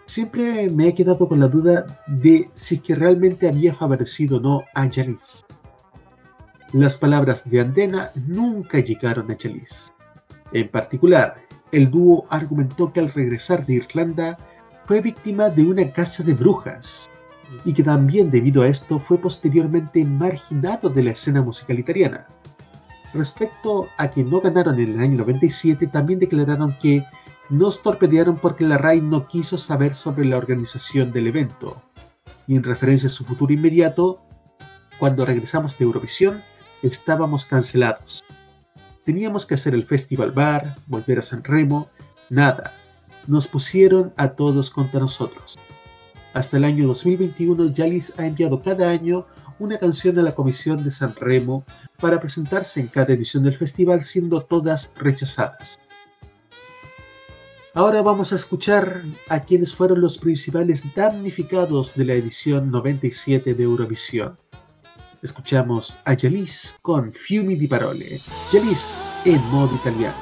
B: Siempre me he quedado con la duda de si es que realmente había favorecido o no a Yalis. Las palabras de Andena nunca llegaron a Yalis. En particular, el dúo argumentó que al regresar de Irlanda fue víctima de una caza de brujas y que también debido a esto fue posteriormente marginado de la escena musical italiana. Respecto a que no ganaron en el año 97, también declararon que nos torpedearon porque la RAI no quiso saber sobre la organización del evento. Y en referencia a su futuro inmediato, cuando regresamos de Eurovisión, estábamos cancelados. Teníamos que hacer el Festival Bar, volver a San Remo, nada. Nos pusieron a todos contra nosotros. Hasta el año 2021, Yalis ha enviado cada año una canción a la Comisión de San Remo para presentarse en cada edición del festival, siendo todas rechazadas. Ahora vamos a escuchar a quienes fueron los principales damnificados de la edición 97 de Eurovisión. Escuchamos a Yalis con Fiumi di Parole. Yalis en modo italiano.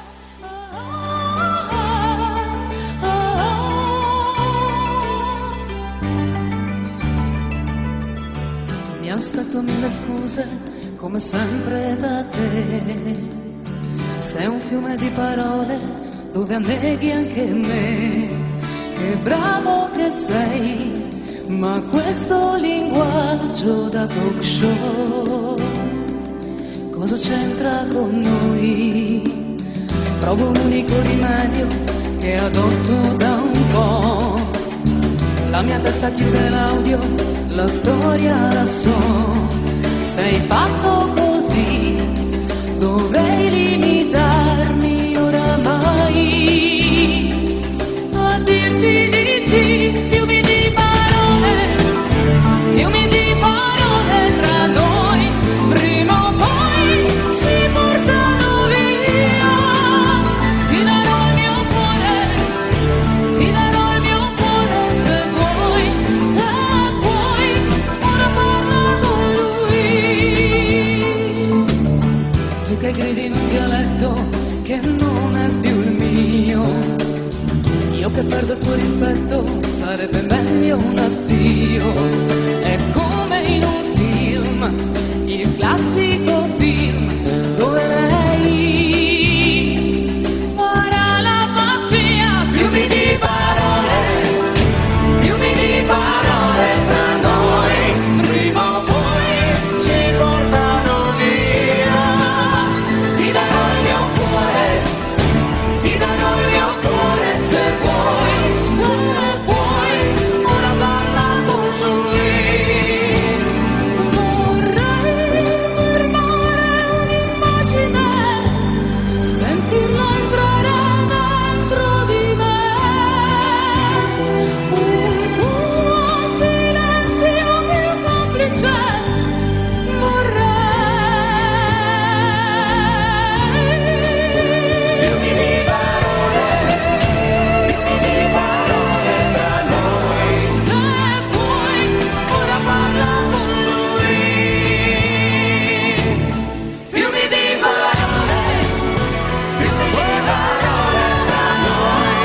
E: Mi aspetto mille scuse, come sempre da te. Sei un fiume di parole dove anneghi anche me. Che bravo che sei, ma questo linguaggio da talk show cosa c'entra con noi? Provo un unico rimedio che adotto da un po'. La mia testa chiude l'audio, la storia la so. Sei fatto così, dovrei limitarmi oramai a dirti di sì. Fiumi di parole tra noi, prima o poi ci portano via. Ti darò il mio cuore, ti darò il mio cuore se vuoi, ora parla con lui. Tu che gridi in un dialetto che non è più il mio, io che perdo il tuo rispetto, sarebbe meglio un addio. È come in un film, il classico film, dove lei farà la pazzia. Fiumi di parole tra noi, prima o poi ci portano via. Ti darò il mio cuore, ti darò il mio cuore se vuoi, ora parla con lui. Vorrei fermare un'immagine, sentirla entrare dentro di me. Un tuo silenzio più complice vorrei. Fiumi di parole tra noi, se vuoi, ora parla con lui. Fiumi di parole tra noi.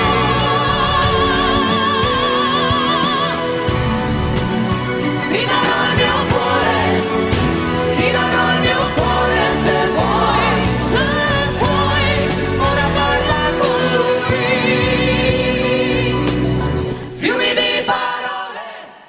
E: Ti darò il mio cuore, ti darò il mio cuore se vuoi, ora parla con lui. Fiumi di parole.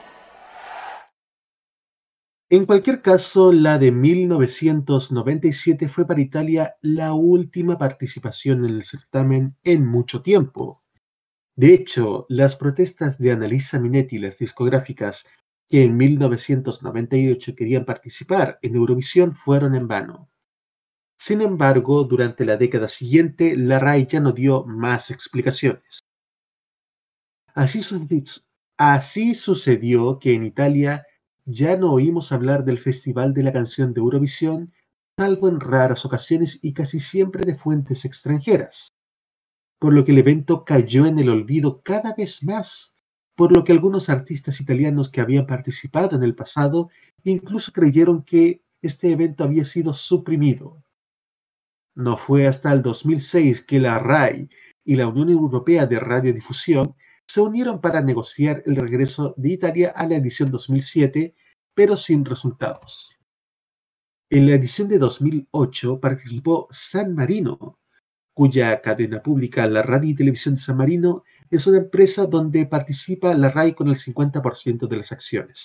B: En cualquier caso, la de 1997 fue para Italia la última participación en el certamen en mucho tiempo. De hecho, las protestas de Annalisa Minetti y las discográficas que en 1998 querían participar en Eurovisión fueron en vano. Sin embargo, durante la década siguiente, la RAI ya no dio más explicaciones. Así sucedió que en Italia ya no oímos hablar del Festival de la Canción de Eurovisión, salvo en raras ocasiones y casi siempre de fuentes extranjeras, por lo que el evento cayó en el olvido cada vez más, por lo que algunos artistas italianos que habían participado en el pasado incluso creyeron que este evento había sido suprimido. No fue hasta el 2006 que la RAI y la Unión Europea de Radiodifusión se unieron para negociar el regreso de Italia a la edición 2007, pero sin resultados. En la edición de 2008 participó San Marino, cuya cadena pública, la Radio y Televisión de San Marino, es una empresa donde participa la RAI con el 50% de las acciones.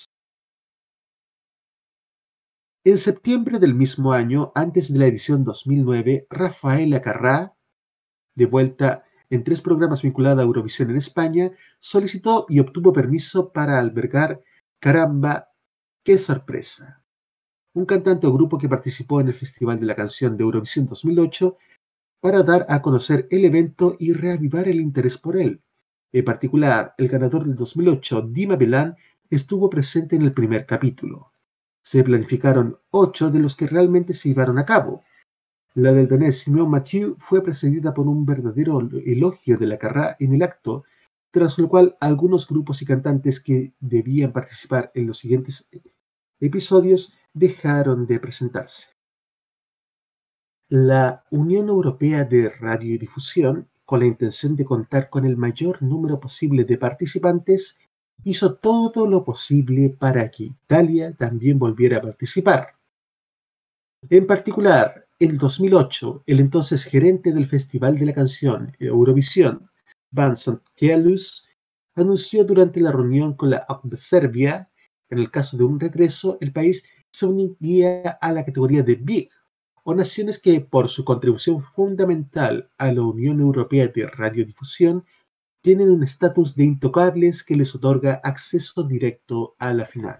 B: En septiembre del mismo año, antes de la edición 2009, Rafaela Carrà, de vuelta en 3 programas vinculados a Eurovisión en España, solicitó y obtuvo permiso para albergar Caramba, qué sorpresa, un cantante o grupo que participó en el Festival de la Canción de Eurovisión 2008 para dar a conocer el evento y reavivar el interés por él. En particular, el ganador del 2008, Dima Bilan, estuvo presente en el primer capítulo. Se planificaron 8 de los que realmente se llevaron a cabo. La del danés Simon Mathieu fue precedida por un verdadero elogio de la Carrà en el acto, tras lo cual algunos grupos y cantantes que debían participar en los siguientes episodios dejaron de presentarse. La Unión Europea de Radiodifusión, con la intención de contar con el mayor número posible de participantes, hizo todo lo posible para que Italia también volviera a participar. En particular, en 2008, el entonces gerente del Festival de la Canción Eurovisión, Vincent Kielus, anunció durante la reunión con la Serbia, en el caso de un regreso, el país se uniría a la categoría de Big, o naciones que, por su contribución fundamental a la Unión Europea de Radiodifusión, tienen un estatus de intocables que les otorga acceso directo a la final.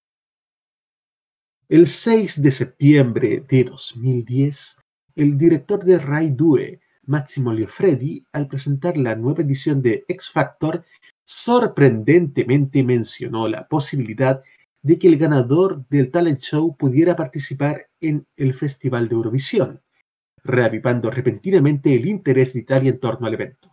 B: El 6 de septiembre de 2010, el director de Rai 2, Massimo Liofredi, al presentar la nueva edición de X Factor, sorprendentemente mencionó la posibilidad de que el ganador del talent show pudiera participar en el Festival de Eurovisión, reavivando repentinamente el interés de Italia en torno al evento.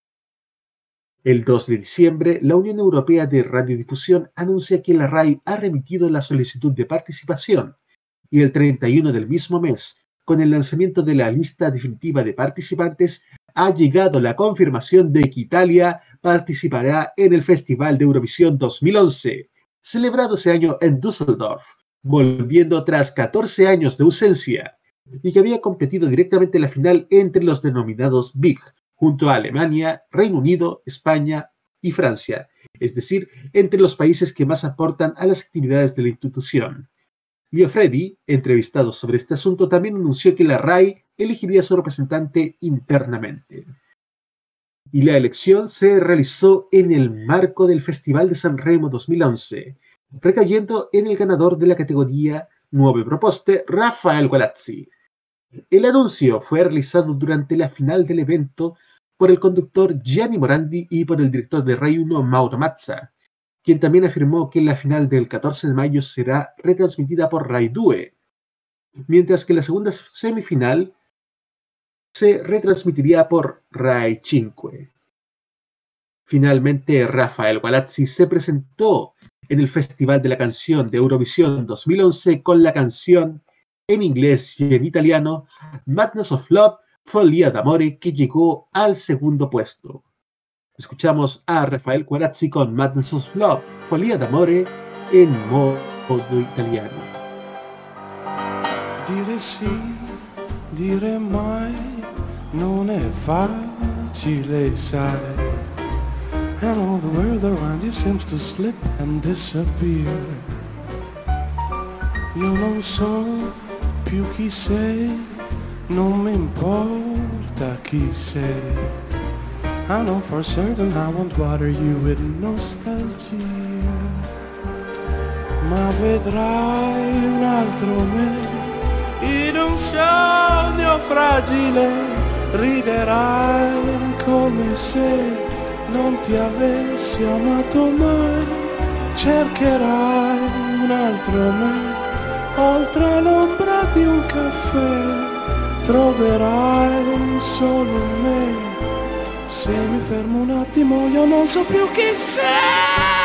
B: El 2 de diciembre, la Unión Europea de Radiodifusión anuncia que la RAI ha remitido la solicitud de participación y el 31 del mismo mes, con el lanzamiento de la lista definitiva de participantes, ha llegado la confirmación de que Italia participará en el Festival de Eurovisión 2011, celebrado ese año en Düsseldorf, volviendo tras 14 años de ausencia, y que había competido directamente en la final entre los denominados Big, junto a Alemania, Reino Unido, España y Francia, es decir, entre los países que más aportan a las actividades de la institución. Liofredi, entrevistado sobre este asunto, también anunció que la RAI elegiría a su representante internamente. Y la elección se realizó en el marco del Festival de Sanremo 2011, recayendo en el ganador de la categoría Nuove Proposte, Rafael Gualazzi. El anuncio fue realizado durante la final del evento por el conductor Gianni Morandi y por el director de Rai 1, Mauro Mazza, quien también afirmó que la final del 14 de mayo será retransmitida por Rai 2, mientras que la segunda semifinal se retransmitiría por Rai 5. Finalmente, Rafael Gualazzi se presentó en el Festival de la Canción de Eurovisión 2011 con la canción en inglés y en italiano Madness of Love, Follia d'Amore, que llegó al segundo puesto. Escuchamos a Rafael Gualazzi con Madness of Love, Follia d'Amore en modo italiano.
J: Dire sì, dire mai, non è facile, sai. And all the world around you seems to slip and disappear. Io non so più chi sei, non mi importa chi sei. I know for certain I won't bother you with nostalgia. Ma vedrai un altro me, in un sogno fragile, riderai come se non ti avessi amato mai. Cercherai un altro me, oltre l'ombra di un caffè, troverai solo me. Se mi fermo un attimo io non so più chi sei.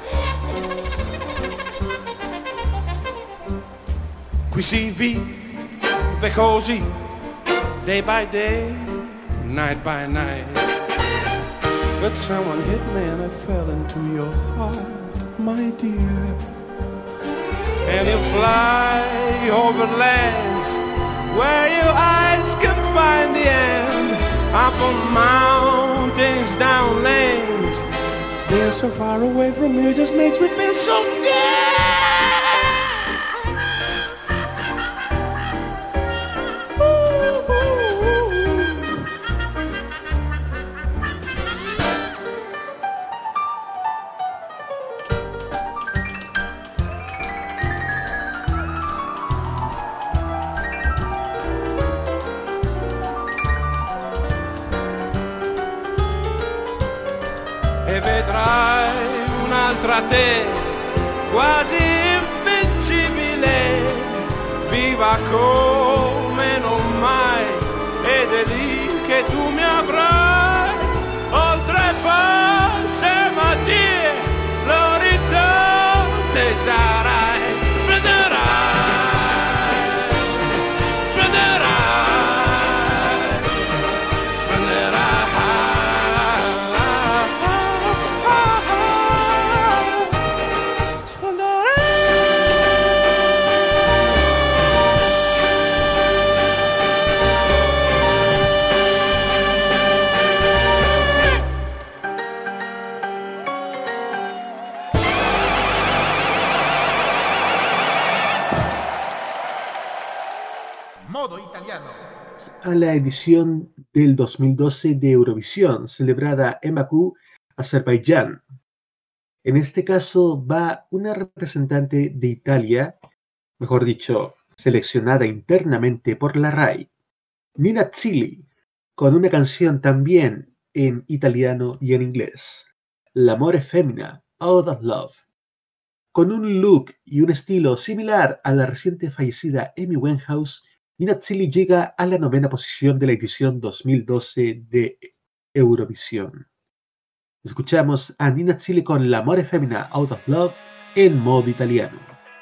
J: Qui si vive
P: vive così, day by day, night by night. But someone hit me and I fell into your heart, my dear. And you fly over lands where your eyes can find the end. Up on mountains, down lanes. Being so far away from you just makes me feel so dead. E vedrai un'altra te, quasi invincibile, viva come non mai, ed è lì che tu mi avrai, oltre false magie, l'orizzonte sarai, splenderai, splenderai, splenderai.
K: Modo italiano.
B: A la edición del 2012 de Eurovisión, celebrada en Bakú, Azerbaiyán. En este caso va una representante de Italia, mejor dicho, seleccionada internamente por la RAI, Nina Zilli, con una canción también en italiano y en inglés, L'amore femmina, Out of Love. Con un look y un estilo similar a la reciente fallecida Amy Winehouse, Nina Zilli llega a la 9ª posición de la edición 2012 de Eurovisión. Escuchamos a Nina Zilli con L'amore femmina, Out of Love en modo italiano.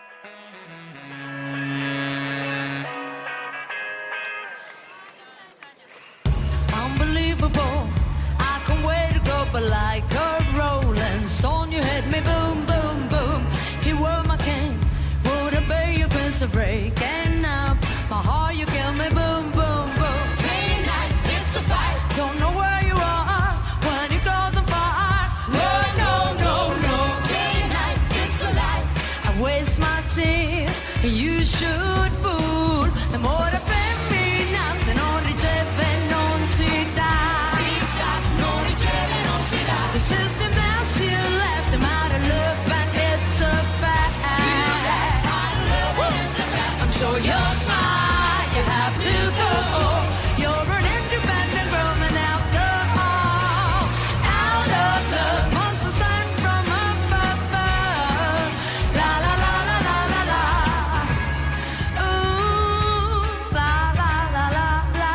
E: Unbelievable, I can't wait to go, but like a rolling stone, you hit me boom, boom, boom. If you were my king, would I be your prince of breaking up? My heart, you kill me, boom, boom, boom. Day and night, it's a fight. Don't know where you are when it goes on fire. No, no, no, no. Day and night, it's a lie. I waste my tears, you should fool. L'amore femmina, se non riceve non si dà. Non riceve non si dà. This is the mess you left, I'm out of love and it's a fact. I'm sure you're smart, you have to go. You're an independent woman after all. Out of love, monster sent from above. La la la la la la la. Ooh, la la la la la.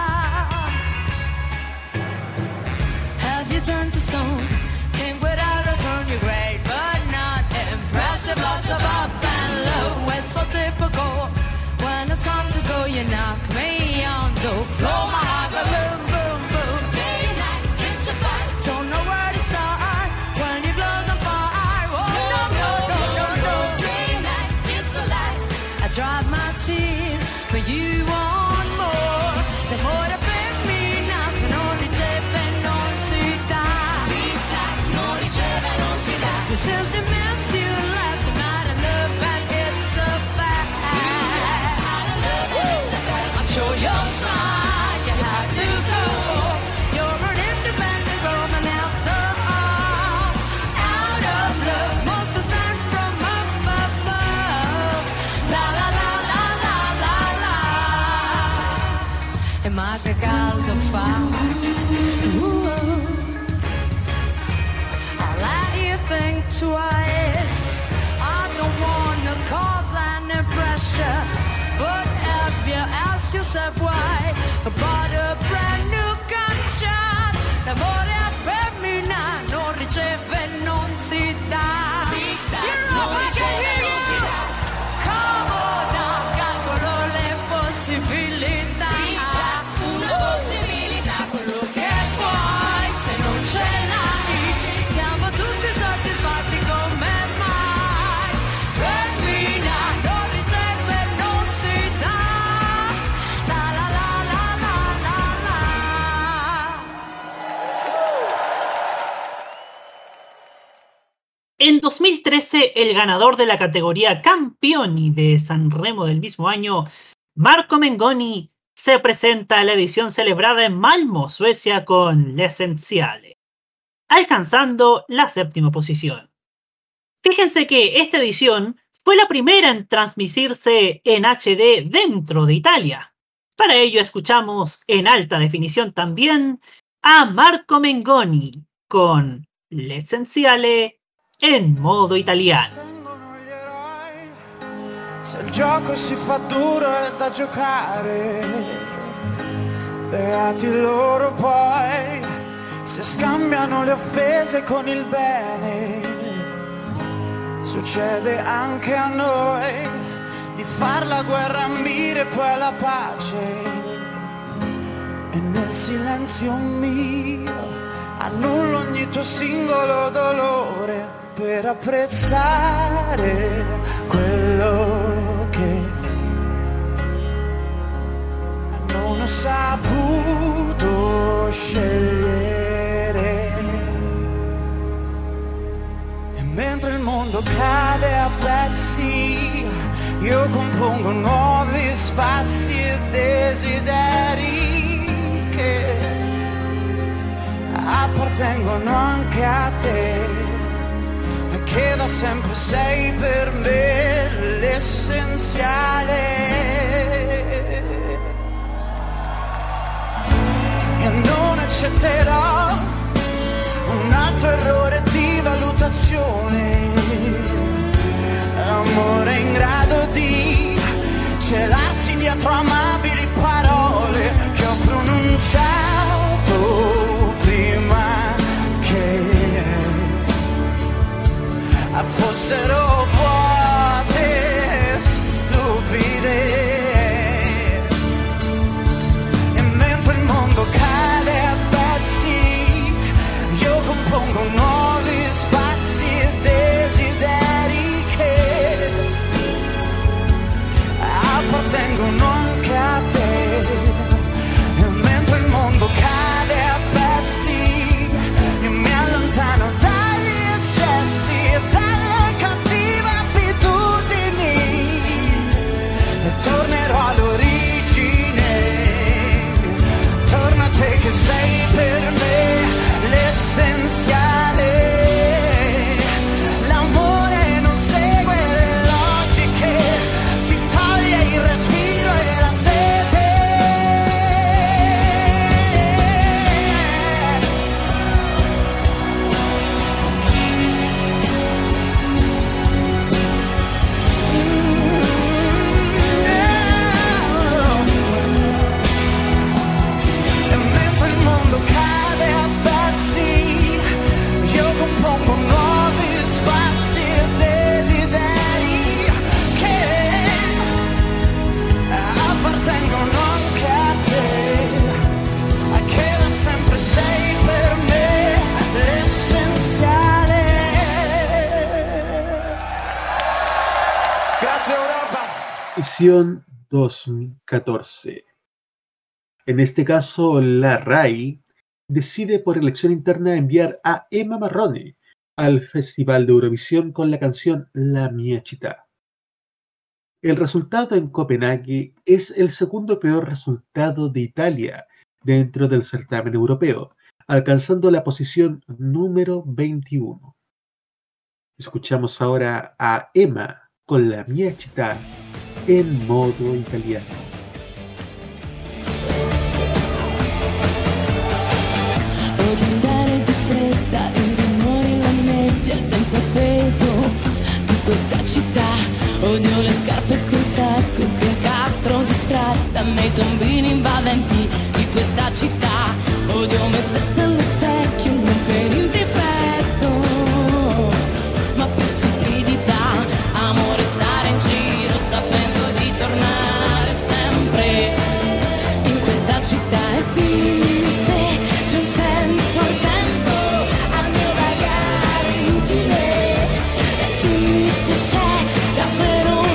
E: Have you turned to stone? King without a throne, you're great but not impressive. Lots of up and low, it's so typical. When it's time to go, you knock me on the floor. My heart goes boom, boom, boom. Day and night, it's a fight. Don't know where to start when your clothes on fire. Oh, no, no, no, no, no. Day and night, it's a lie. I dry my tears, but you want more. L'amore femmina, se non riceve non si dà. Non riceve non si dà. This is the mess you left, I'm out of love and it's a fact. I'm sure you're smart, you have to go. You're an independent woman after all. Out of love, most are sent from above. La la la la la la la. E ma che caldo fa. I'll let you think twice. I don't wanna cause any pressure, but have you asked yourself why? About a brand new gunshot. L'amore femmina non riceve non si dà. You know I can hear you. Come on now, calcolo le possibilità.
C: En 2013, el ganador de la categoría Campioni de Sanremo del mismo año, Marco Mengoni, se presenta a la edición celebrada en Malmö, Suecia, con L'Essenziale, alcanzando la 7ª posición. Fíjense que esta edición fue la primera en transmitirse en HD dentro de Italia. Para ello escuchamos en alta definición también a Marco Mengoni con L'Essenziale en modo italiano.
N: Se il gioco si fa duro è da giocare, beati loro poi, se scambiano le offese con il bene. Succede anche a noi di far la guerra ambire poi alla pace, e nel silenzio mio annullo ogni tuo singolo dolore per apprezzare quello che non ho saputo scegliere. E mentre il mondo cade a pezzi, io compongo nuovi spazi e desideri che appartengono anche a te, che da sempre sei per me l'essenziale. E non accetterò un altro errore di valutazione, amore in grado di celarsi dietro amabili parole che ho pronunciato prima che fossero vuote, stupide. E mentre il mondo cade a pezzi, io compongo nuovi spazi e desideri che appartengono anche a te. E mentre il mondo cade a pezzi, io mi allontano dagli eccessi e dalle cattive abitudini, e tornerò all'origine. Torna a te che sei per me l'essenziale. L'amore non segue le logiche, ti toglie il respiro e la sete. E mentre il mondo cade a pezzi, io compongo nuovi spazi e desideri che appartengono anche a te, che da sempre sei per me l'essenziale. Grazie Europa.
B: Edición 2014. En este caso, la RAI decide por elección interna enviar a Emma Marrone al Festival de Eurovisión con la canción La mia città. El resultado en Copenhague es el segundo peor resultado de Italia dentro del certamen europeo, alcanzando la posición número 21. Escuchamos ahora a Emma con La mia città en modo italiano.
E: Odio andare di fretta, il rumore, la nebbia, il tempo appeso di questa città. Odio le scarpe col tacco che incastro distratta nei tombini invadenti di questa città. Odio me stessa allo specchio, non per il difetto, ma per stupidità. Amo restare in giro sapendo di tornare sempre in questa città. E dimmi se c'è un senso al tempo, al mio vagare inutile. E dimmi se c'è davvero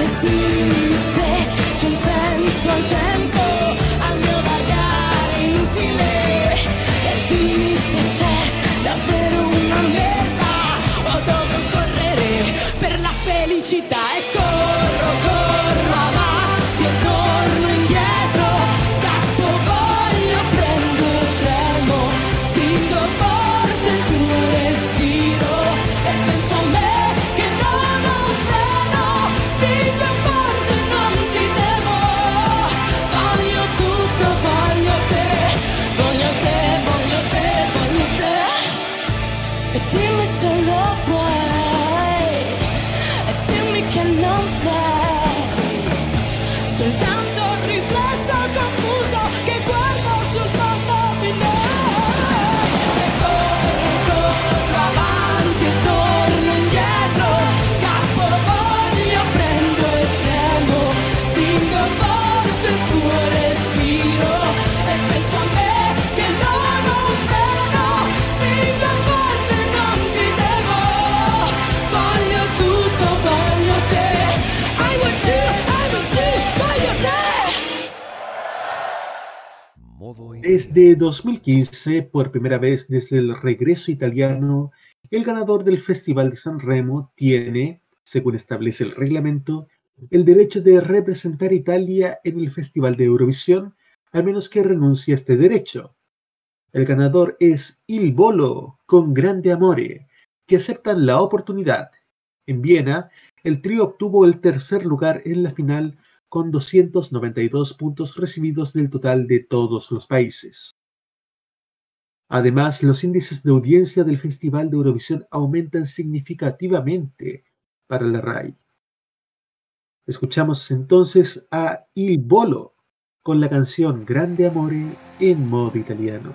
E: E dimmi se c'è un senso al tempo, al mio vagare inutile. E dimmi se c'è davvero una meta o dove correre per la felicità. E corro, corro avanti e torno indietro, scappo, voglio, prendo e tremo, stringo forte il tuo respiro e penso a me che non ho un freno, spingo forte e non ti temo, voglio tutto, voglio te, voglio te, voglio te, voglio te. E dimmi se lo puoi, e dimmi che non sei soltanto un riflesso confuso che guardo sul fondo di noi. E corro avanti e torno indietro, scappo, voglio, prendo e tremo, stringo forte il tuo respiro e penso a me che non ho un freno, spingo forte e non ti devo, voglio tutto, voglio te, I want you, voglio te.
B: Desde 2015, por primera vez desde el regreso italiano, el ganador del Festival de San Remo tiene, según establece el reglamento, el derecho de representar a Italia en el Festival de Eurovisión, a menos que renuncie a este derecho. El ganador es Il Volo con Grande Amore, que aceptan la oportunidad. En Viena, el trío obtuvo el tercer lugar en la final con 292 puntos recibidos del total de todos los países. Además, los índices de audiencia del Festival de Eurovisión aumentan significativamente para la RAI. Escuchamos entonces a Il Volo con la canción Grande Amore en modo italiano.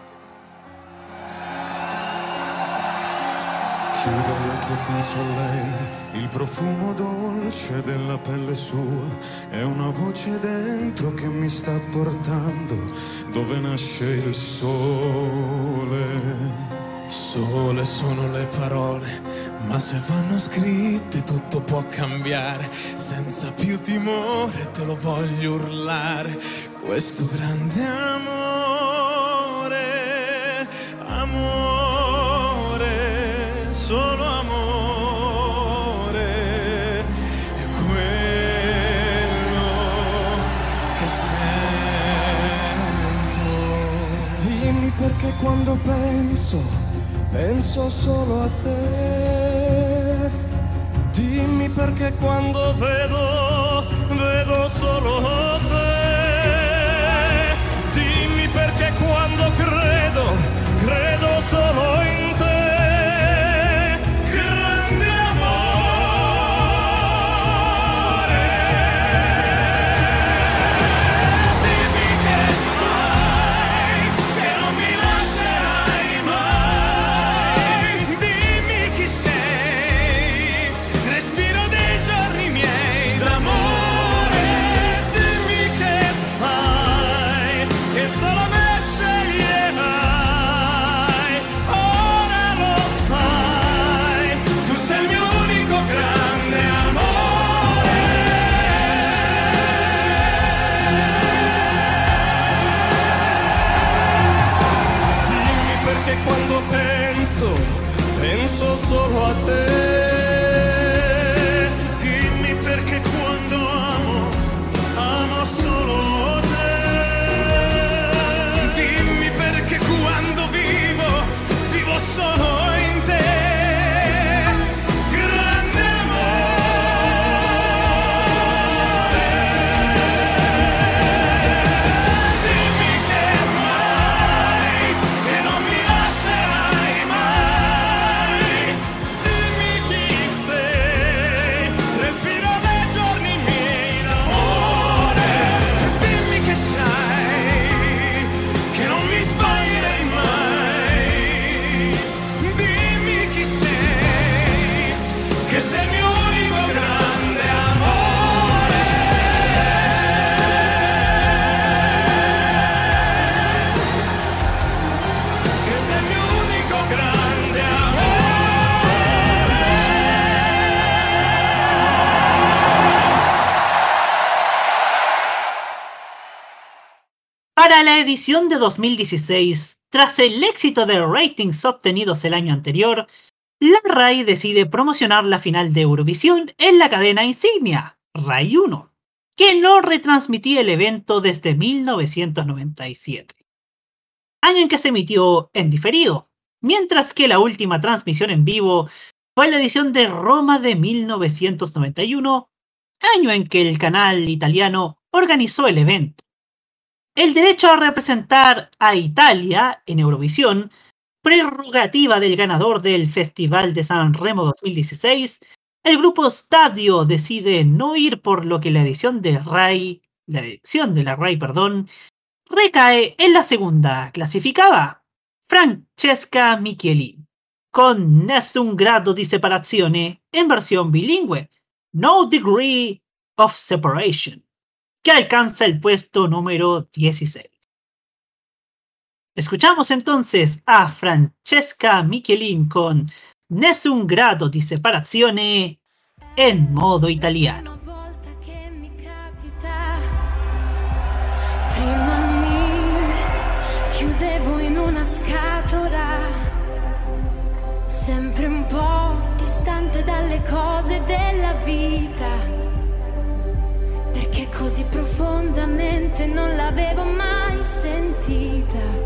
J: Chiudo gli occhi e penso a lei, il profumo dolce della pelle sua, è una voce dentro che mi sta portando dove nasce il sole. Sole sono le parole, ma se vanno scritte tutto può cambiare, senza più timore te lo voglio urlare, questo grande amore, amore, solo amore, è quello che sento. Dimmi perché quando penso solo a te. Dimmi perché quando vedo solo te. Dimmi perché quando credo solo in te. Grande amore. Dimmi che non mi lascerai mai. Dimmi chi sei, respiro dei giorni miei d'amore. Dimmi
C: Para la edición de 2016, tras el éxito de ratings obtenidos el año anterior, la RAI decide promocionar la final de Eurovisión en la cadena insignia, RAI 1, que no retransmitía el evento desde 1997, año en que se emitió en diferido, mientras que la última transmisión en vivo fue la edición de Roma de 1991, año en que el canal italiano organizó el evento. El derecho a representar a Italia en Eurovisión, prerrogativa del ganador del Festival de San Remo 2016, el grupo Stadio decide no ir, por lo que la edición de la RAI, recae en la segunda clasificada, Francesca Michelin, con Nessun grado di separazione en versión bilingüe, No Degree of Separation, que alcanza el puesto número 16. Escuchamos entonces a Francesca Michelin con Nessun grado di separazione en modo italiano.
I: Prima mi chiudevo in una scatola, sempre un po' distante dalle cose della vita, perché così profondamente non l'avevo mai sentita.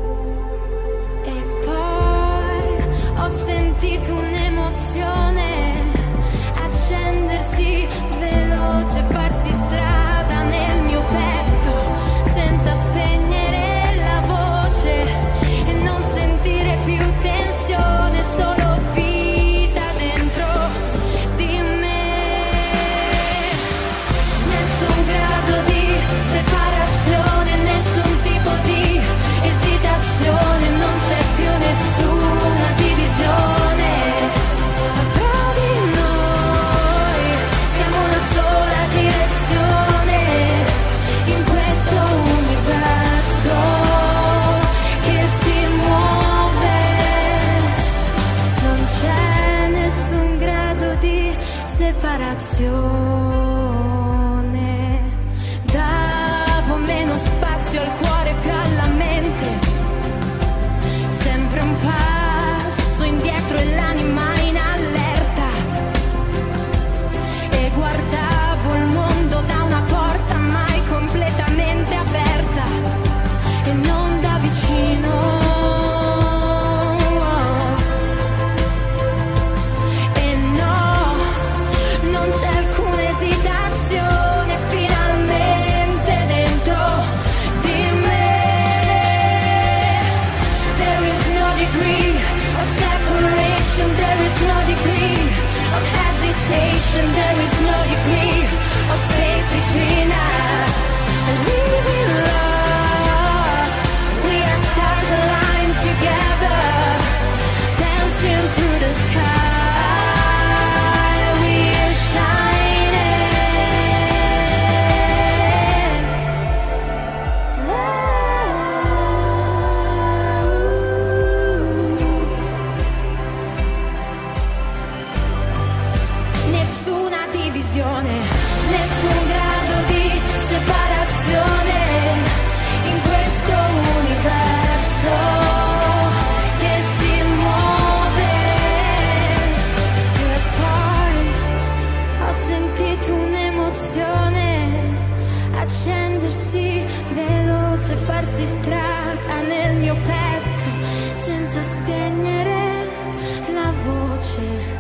I: E poi ho sentito un'emozione accendersi veloce, farsi strada nel mio petto senza spegnere la voce e non sentire più tensione, solo vita dentro di me. Nessun grado di separazione, nessun tipo di esitazione, non c'è più nessuna divisione. Tra di noi siamo una sola direzione in questo universo che si muove. Non c'è nessun grado di separazione. Davo meno spazio al cuore, più alla mente, sempre un passo indietro e l'anima in allerta, e guardavo il mondo da una porta mai completamente aperta e non da vicino. E no, non c'è alcuna esitazione, finalmente dentro di me. There is no degree of separation, there is no degree of hesitation, there is no degree of space between us. We will love, we are stars aligned together, dancing through the sky, we are shining. Nessuna divisione, nessun grado di separazione in questo universo che si muove. E poi ho sentito un'emozione accendersi veloce, farsi strada nel mio petto senza spegnere la voce.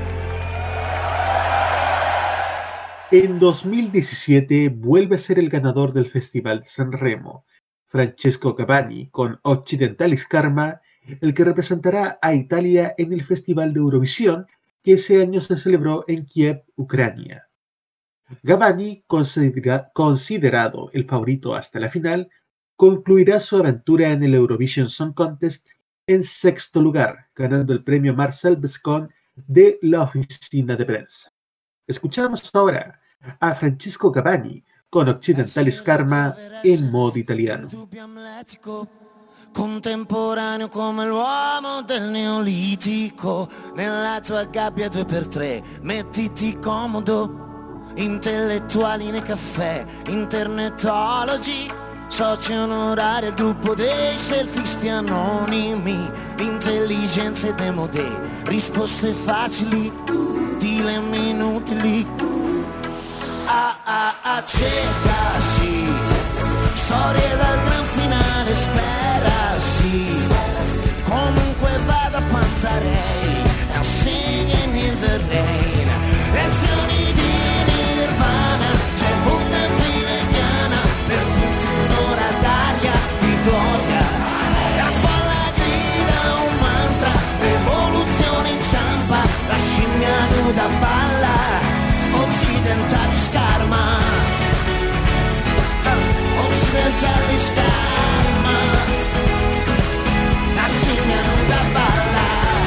B: En 2017 vuelve a ser el ganador del Festival de San Remo, Francesco Gavani, con Occidentalis Karma, el que representará a Italia en el Festival de Eurovisión, que ese año se celebró en Kiev, Ucrania. Gavani, considerado el favorito hasta la final, concluirá su aventura en el Eurovision Song Contest en sexto lugar, ganando el premio Marcel Bescon de la oficina de prensa. Escuchamos ahora a Francesco Gavani con Occidentalis Karma en modo italiano.
Q: Contemporaneo come l'uomo del Neolitico, nella tua gabbia 2x3 mettiti comodo, intellettuali nei caffè, internetologi, soci onorari al gruppo dei selfisti anonimi, intelligenze demodè, risposte facili, dilemme inutili. Cercasi, storie dal gran finale, sperasi, comunque vada Pantarei, I'm singing in the rain, lezioni di Nirvana, c'è Buddha in fila indiana, per tutti un'ora d'aria di gloria, la folla grida un mantra, l'evoluzione inciampa, la scimmia nuda balla, occidentali scarma, occidentali scarma, la scimmia nuda balla,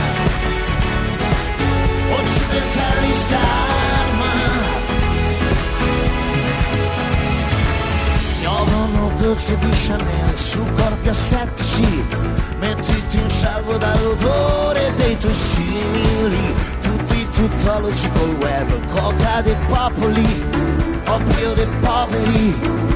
Q: occidentali scarma. Piovono gocce di Chanel su corpi assettici, mettiti in salvo dall'odore dei tuoi simili, tutti tuttologi col web, coca dei popoli, oppio dei poveri.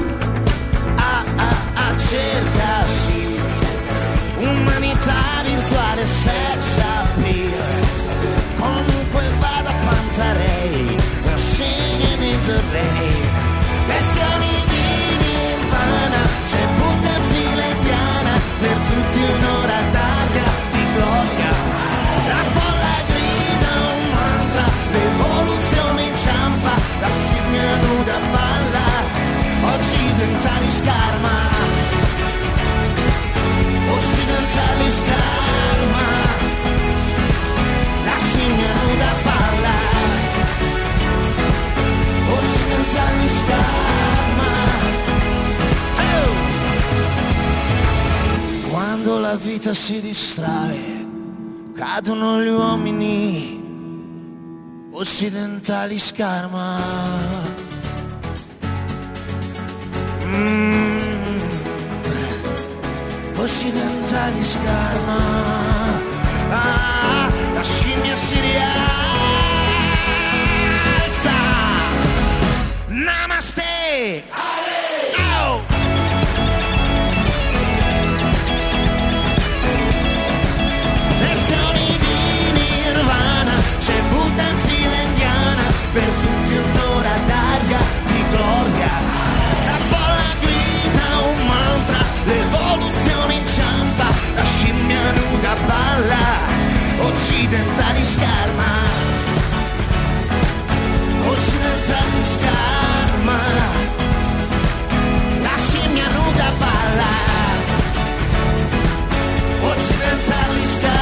Q: Cercasi, umanità virtuale, sex appeal, comunque vada Pantarei, singing in the rain, lezioni di Nirvana, c'è Buddha in fila indiana, per tutti un'ora d'aria di gloria, la folla grida un mantra, l'evoluzione inciampa, la scimmia nuda balla, occidentali scarma, occidentali scarma, la scimmia nuda balla, occidentali scarma. Oh! Quando la vita si distrae, cadono gli uomini, occidentali scarma. Occidentali scarma, la scimmia si rialza, namaste, oh! Lezioni di Nirvana, c'è Buddha in fila indiana, per tutti un'ora d'aria di gloria, la folla grida un mantra, l'evoluzione inciampa, la scimmia nuda balla, occidentali scarma, occidentali scarma, la scimmia nuda balla, occidentali scarma.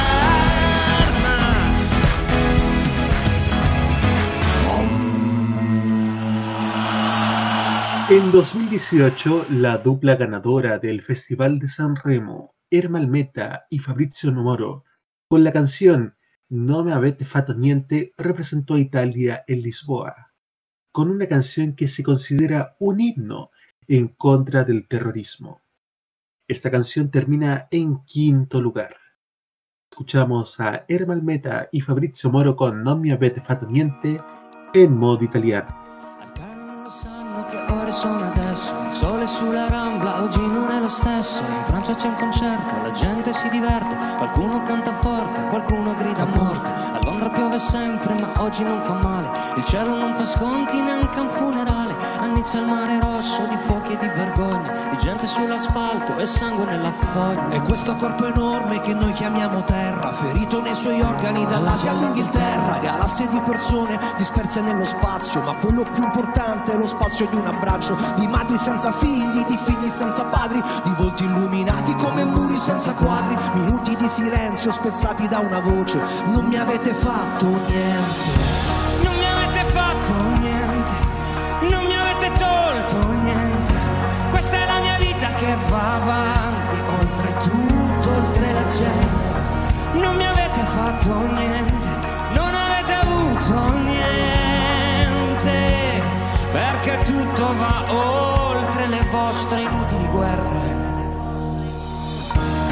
B: En 2018, la dupla ganadora del Festival de San Remo, Ermal Meta y Fabrizio Moro, con la canción No me avete fatto niente, representó a Italia en Lisboa, con una canción que se considera un himno en contra del terrorismo. Esta canción termina en quinto lugar. Escuchamos a Ermal Meta y Fabrizio Moro con Non mi avete fatto niente en modo italiano.
R: Che ore sono adesso, il sole sulla Rambla oggi non è lo stesso, in Francia c'è un concerto, la gente si diverte, qualcuno canta forte, qualcuno grida a morte, a Londra piove sempre ma oggi non fa male, il cielo non fa sconti neanche a un funerale, a Nizza il mare rosso di fuochi e di vergogna, di gente sull'asfalto e sangue nella foglia.
S: E questo corpo enorme che noi chiamiamo terra, ferito nei suoi organi dall'Asia all'Inghilterra, galassie di persone disperse nello spazio, ma quello più importante è lo spazio di un abbraccio, di madri senza figli, di figli senza padri, di volti illuminati come muri senza quadri, minuti di silenzio spezzati da una voce. Non mi avete fatto niente,
R: non mi avete fatto niente, non mi avete tolto niente, questa è la mia vita che va avanti, oltre tutto, oltre la gente. Non mi avete fatto niente, non avete avuto niente, perché tutto va oltre le vostre inutili guerre.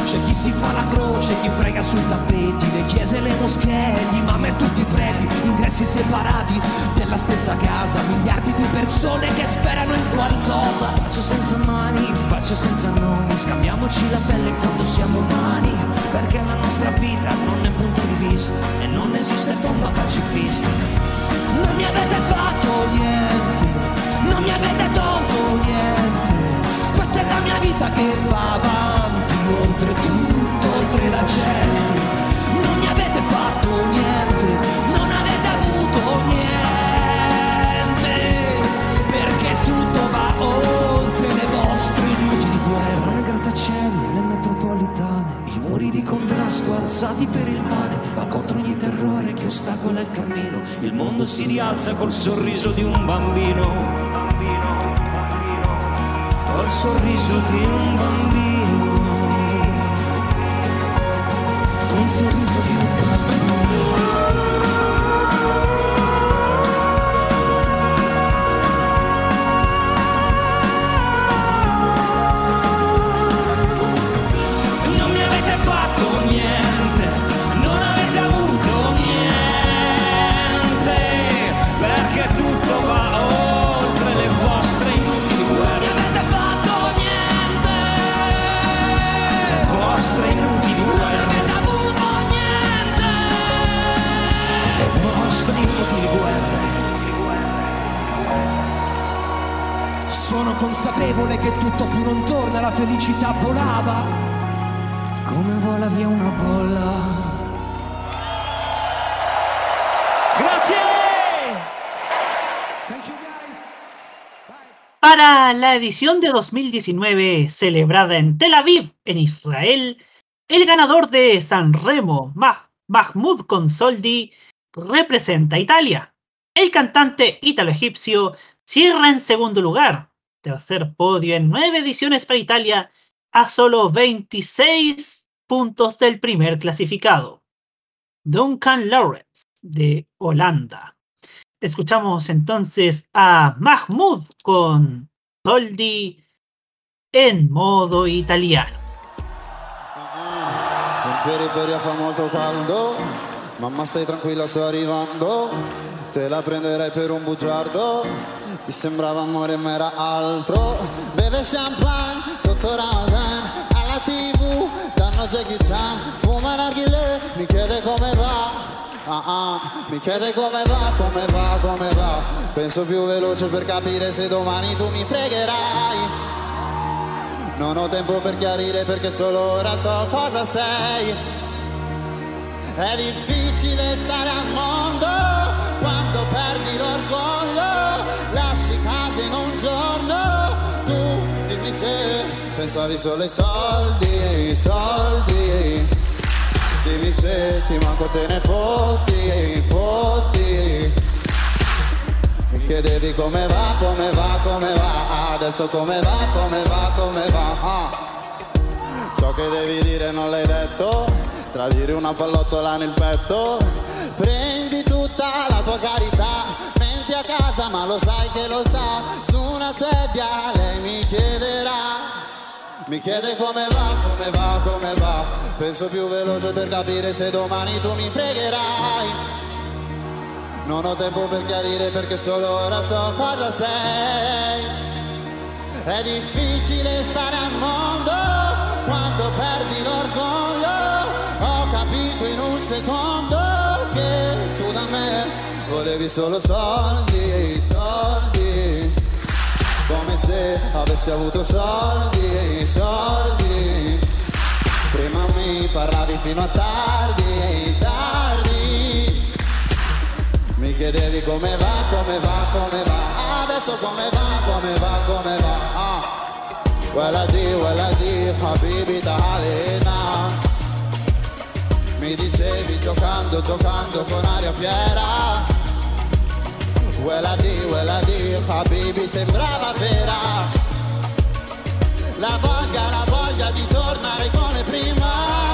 S: C'è chi si fa la croce, chi prega sui tappeti, le chiese, le moschee, gli imam e tutti i preti, ingressi separati della stessa casa, miliardi di persone che sperano in qualcosa.
R: Faccio senza mani, faccio senza nomi, scambiamoci la pelle, in fondo siamo umani, perché la nostra vita non è punto di vista e non esiste bomba pacifista.
S: Non mi avete fatto niente, non mi avete tolto niente, questa è la mia vita che va avanti, oltre tutto, oltre la gente. Non mi avete fatto niente, non avete avuto niente, perché tutto va oltre le vostre inutili guerre.
R: Le grattacieli, le metropolitane, i muri di contrasto alzati per il pane, ma contro ogni terrore che ostacola il cammino, il mondo si rialza col sorriso di un bambino. Col sorriso di un bambino, col sorriso di un bambino.
S: Non mi avete fatto niente, non avete avuto niente, perché tutto va oltre le vostre inutili guerre. Inutili guerre, non avete avuto niente, le vostre inutili guerre. Sono consapevole che tutto più non torna, la felicità volava
R: come vola via una bolla.
S: Grazie.
C: Para la edición de 2019 celebrada en Tel Aviv, en Israel, el ganador de Sanremo, Mahmoud Consoldi, representa a Italia. El cantante ítalo-egipcio cierra en segundo lugar, tercer podio en 9 ediciones para Italia, a solo 26 puntos del primer clasificado, Duncan Lawrence, de Holanda. Escuchamos entonces a Mahmoud con Soldi en modo italiano.
T: In periferia fa molto caldo, mamma stai tranquilla, sto arrivando, te la prenderei per un bugiardo, ti sembrava amore ma era altro, beve champagne sotto Ramadan, alla TV danno Jackie Chan, fuma narghilè, mi chiede come va. Mi chiede come va, come va, come va. Penso più veloce per capire se domani tu mi fregherai. Non ho tempo per chiarire perché solo ora so cosa sei. È difficile stare al mondo quando perdi l'orgoglio. Lasci casa in un giorno, tu dimmi se pensavi solo ai soldi, soldi. Dimmi se ti manco te ne fotti, fotti. Mi chiedevi come va, come va, come va. Adesso come va, come va, come va. Ciò che devi dire non l'hai detto, tradire una pallottola nel petto. Prendi tutta la tua carità, menti a casa ma lo sai che lo sa. Su una sedia lei mi chiederà. Mi chiede come va, come va, come va. Penso più veloce per capire se domani tu mi fregherai. Non ho tempo per chiarire perché solo ora so cosa sei. È difficile stare al mondo quando perdi l'orgoglio. Ho capito in un secondo che tu da me volevi solo soldi, soldi. Come se avessi avuto soldi, soldi. Prima mi parlavi fino a tardi, tardi. Mi chiedevi come va, come va, come va. Adesso come va, come va, come va. Waladi, habibi ta'alina. Mi dicevi giocando, giocando con aria fiera. Waladi, habibi sembrava vera. La voglia di tornare come prima.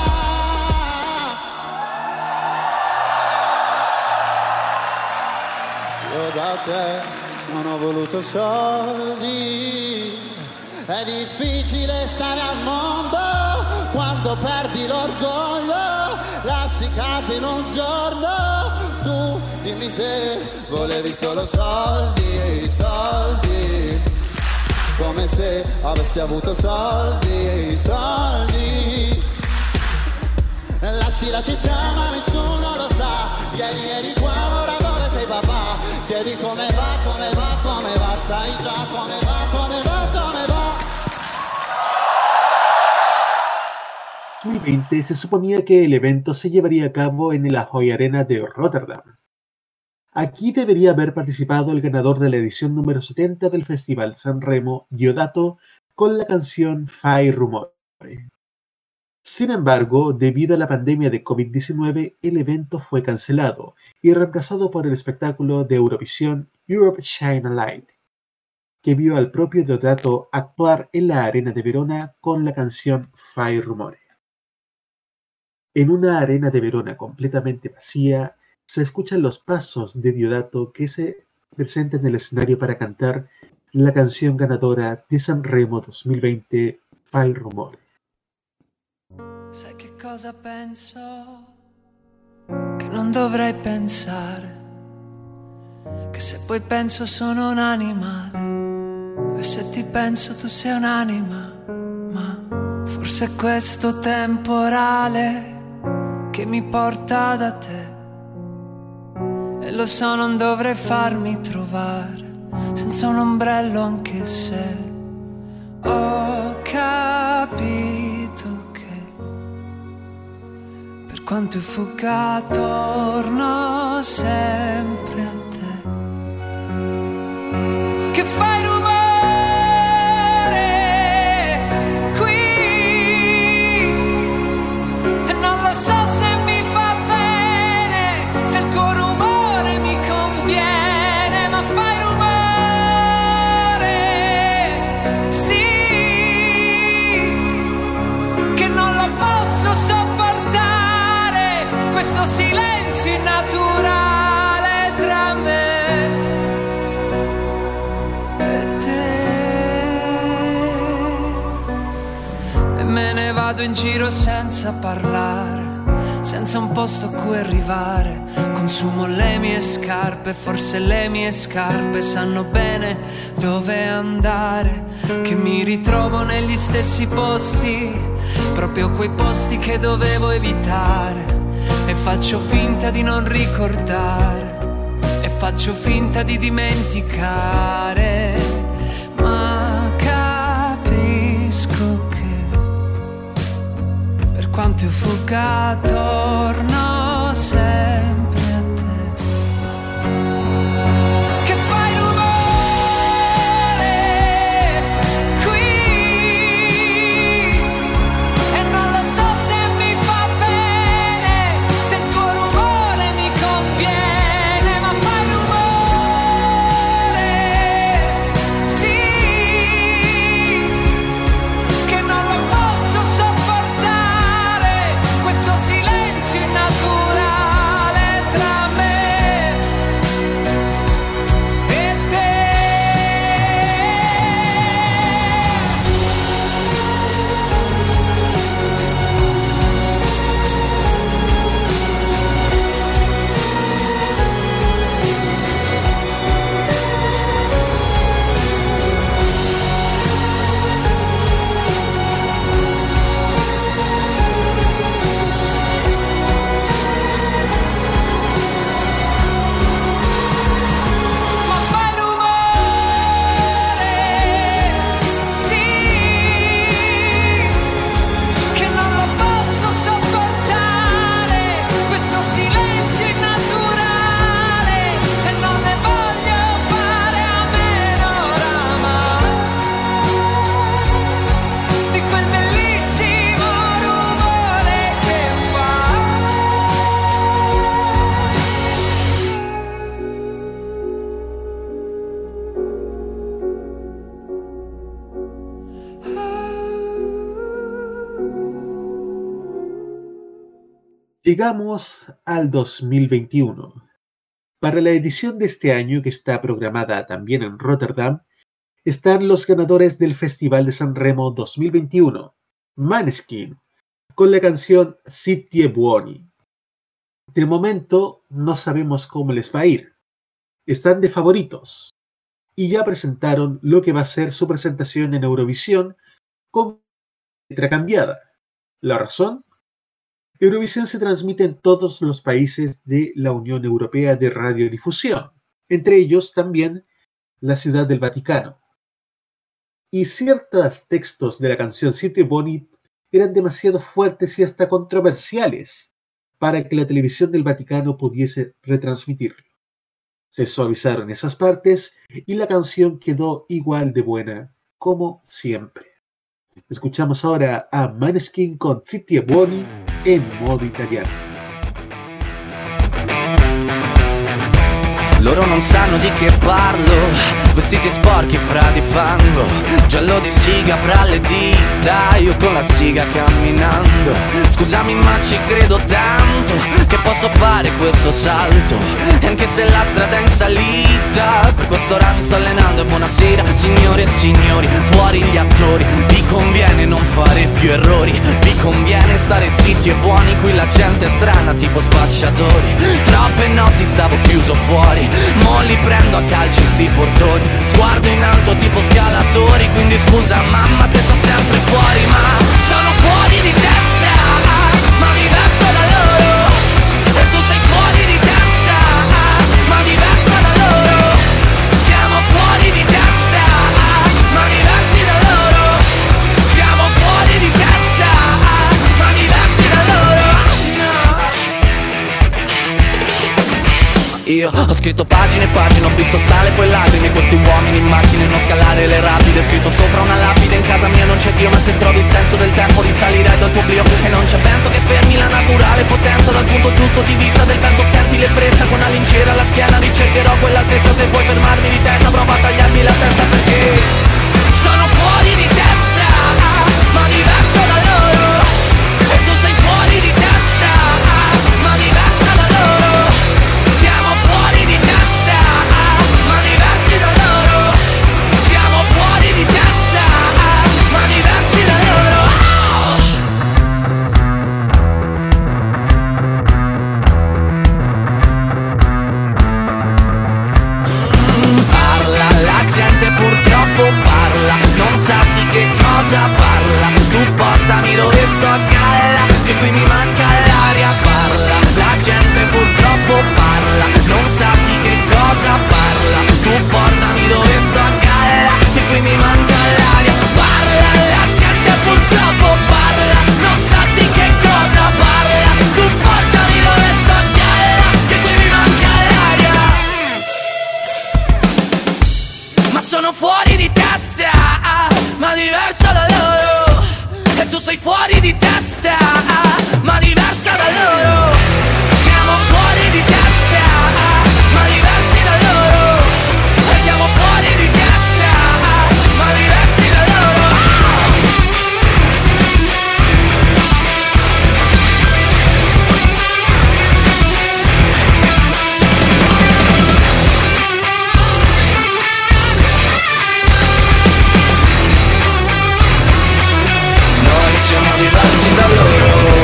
T: Io da te non ho voluto soldi. È difficile stare al mondo quando perdi l'orgoglio, lasci casa in un giorno. Tu dimmi se volevi solo soldi, soldi, come se avessi avuto soldi, soldi. Lasci la città ma nessuno lo sa, ieri eri qua, ora dove sei papà? Chiedi come va, come va, come va, sai già come va, come va, come va.
B: 2020 se suponía que el evento se llevaría a cabo en la Ahoy Arena de Rotterdam. Aquí debería haber participado el ganador de la edición número 70 del Festival San Remo, Diodato, con la canción Fai Rumore. Sin embargo, debido a la pandemia de COVID-19, el evento fue cancelado y reemplazado por el espectáculo de Eurovisión Europe Shine a Light, que vio al propio Diodato actuar en la Arena de Verona con la canción Fai Rumore. En una arena de Verona completamente vacía, se escuchan los pasos de Diodato que se presenta en el escenario para cantar la canción ganadora di Sanremo 2020, Fai Rumore.
N: Sai che cosa penso? Che non dovrei pensare, che se poi penso sono un animale, e se ti penso tu sei un'anima, ma forse è questo temporale che mi porta da te. E lo so, non dovrei farmi trovare senza un ombrello, anche se ho capito che per quanto io fugga torno sempre a te. Che fai rumore qui e non lo so se mi fa bene, se il tuo rumore mi conviene, ma fai rumore, sì, che non lo posso sopportare, questo silenzio innaturale tra me e te. E me ne vado in giro senza parlare, senza un posto a cui arrivare. Consumo le mie scarpe, forse le mie scarpe sanno bene dove andare, che mi ritrovo negli stessi posti, proprio quei posti che dovevo evitare. E faccio finta di non ricordare, e faccio finta di dimenticare, ma capisco che per quanto io fugga torno sempre a te. Che fai rumore qui e non lo so se mi fa bene, se il tuo rumore mi conviene, ma fai rumore, sì, che non lo posso sopportare, questo silenzio innaturale tra me e te. Ma fai rumore, sì, che non lo posso sopportare, questo silenzio innaturale, e non ne voglio fare a meno oramai, di quel bellissimo rumore che fa.
B: Llegamos al 2021. Para la edición de este año, que está programada también en Rotterdam, están los ganadores del Festival de San Remo 2021, Måneskin, con la canción Zitti e Buoni. De momento no sabemos cómo les va a ir. Están de favoritos y ya presentaron lo que va a ser su presentación en Eurovisión con letra cambiada. ¿La razón? Eurovisión se transmite en todos los países de la Unión Europea de Radiodifusión, entre ellos también la Ciudad del Vaticano. Y ciertos textos de la canción Zitti e Buoni eran demasiado fuertes y hasta controversiales para que la televisión del Vaticano pudiese retransmitirlo. Se suavizaron esas partes y la canción quedó igual de buena como siempre. Escuchamos ahora a Maneskin con Zitti e Buoni en modo italiano.
N: Loro non sanno di che parlo, vestiti sporchi fra di fango, giallo di siga fra le dita, io con la siga camminando. Scusami ma ci credo tanto, che posso fare questo salto, e anche se la strada è in salita, per questo ora mi sto allenando e buonasera signore e signori, fuori gli attori, vi conviene non fare più errori, vi conviene stare zitti e buoni, qui la gente è strana tipo spacciatori, troppe notti stavo chiuso fuori, mo li prendo a calci sti portoni, sguardo in alto tipo scalatori, quindi scusa mamma se sto sempre fuori, ma sono fuori di testa, ma diverso da loro, e tu sei fuori di testa, ma diverso da loro, siamo fuori di testa, ma diversi da loro, siamo fuori di testa, ma diversi da loro, no. Io ho scritto pagine e pagine, ho visto sale poi lacrime, questi uomini in macchine, non scalare le rapide, scritto sopra una lapide, in casa mia non c'è Dio, ma se trovi il senso del tempo risalirai dal tuo oblio, e non c'è vento che fermi la naturale potenza, dal punto giusto di vista del vento senti l'ebbrezza, con la lincera alla schiena ricercherò quell'altezza, se vuoi fermarmi di testa prova a tagliarmi la testa, perché sono fuori di testa, ma diverso da loro, e tu sei fuori di testa, ma diversa da loro, siamo fuori di testa, ma diversi da loro, siamo fuori di testa, ma diversi da loro. Parla, la gente purtroppo parla, non sa di che cosa parla, tu portami dove sto a galla, che qui mi manca l'aria, parla, la gente purtroppo parla, non sa di che cosa parla, tu portami dove sto a galla, che qui mi manca l'aria, parla, la gente purtroppo parla, non sa di che cosa parla, tu portami dove sto a galla, che qui mi manca l'aria, ma sono fuori di testa, ma diverso da loro, e tu sei fuori di testa, ma diversa da loro, siamo fuori di testa, ma diversi da loro, e siamo fuori di testa, ma diversi da loro. Noi siamo diversi da loro.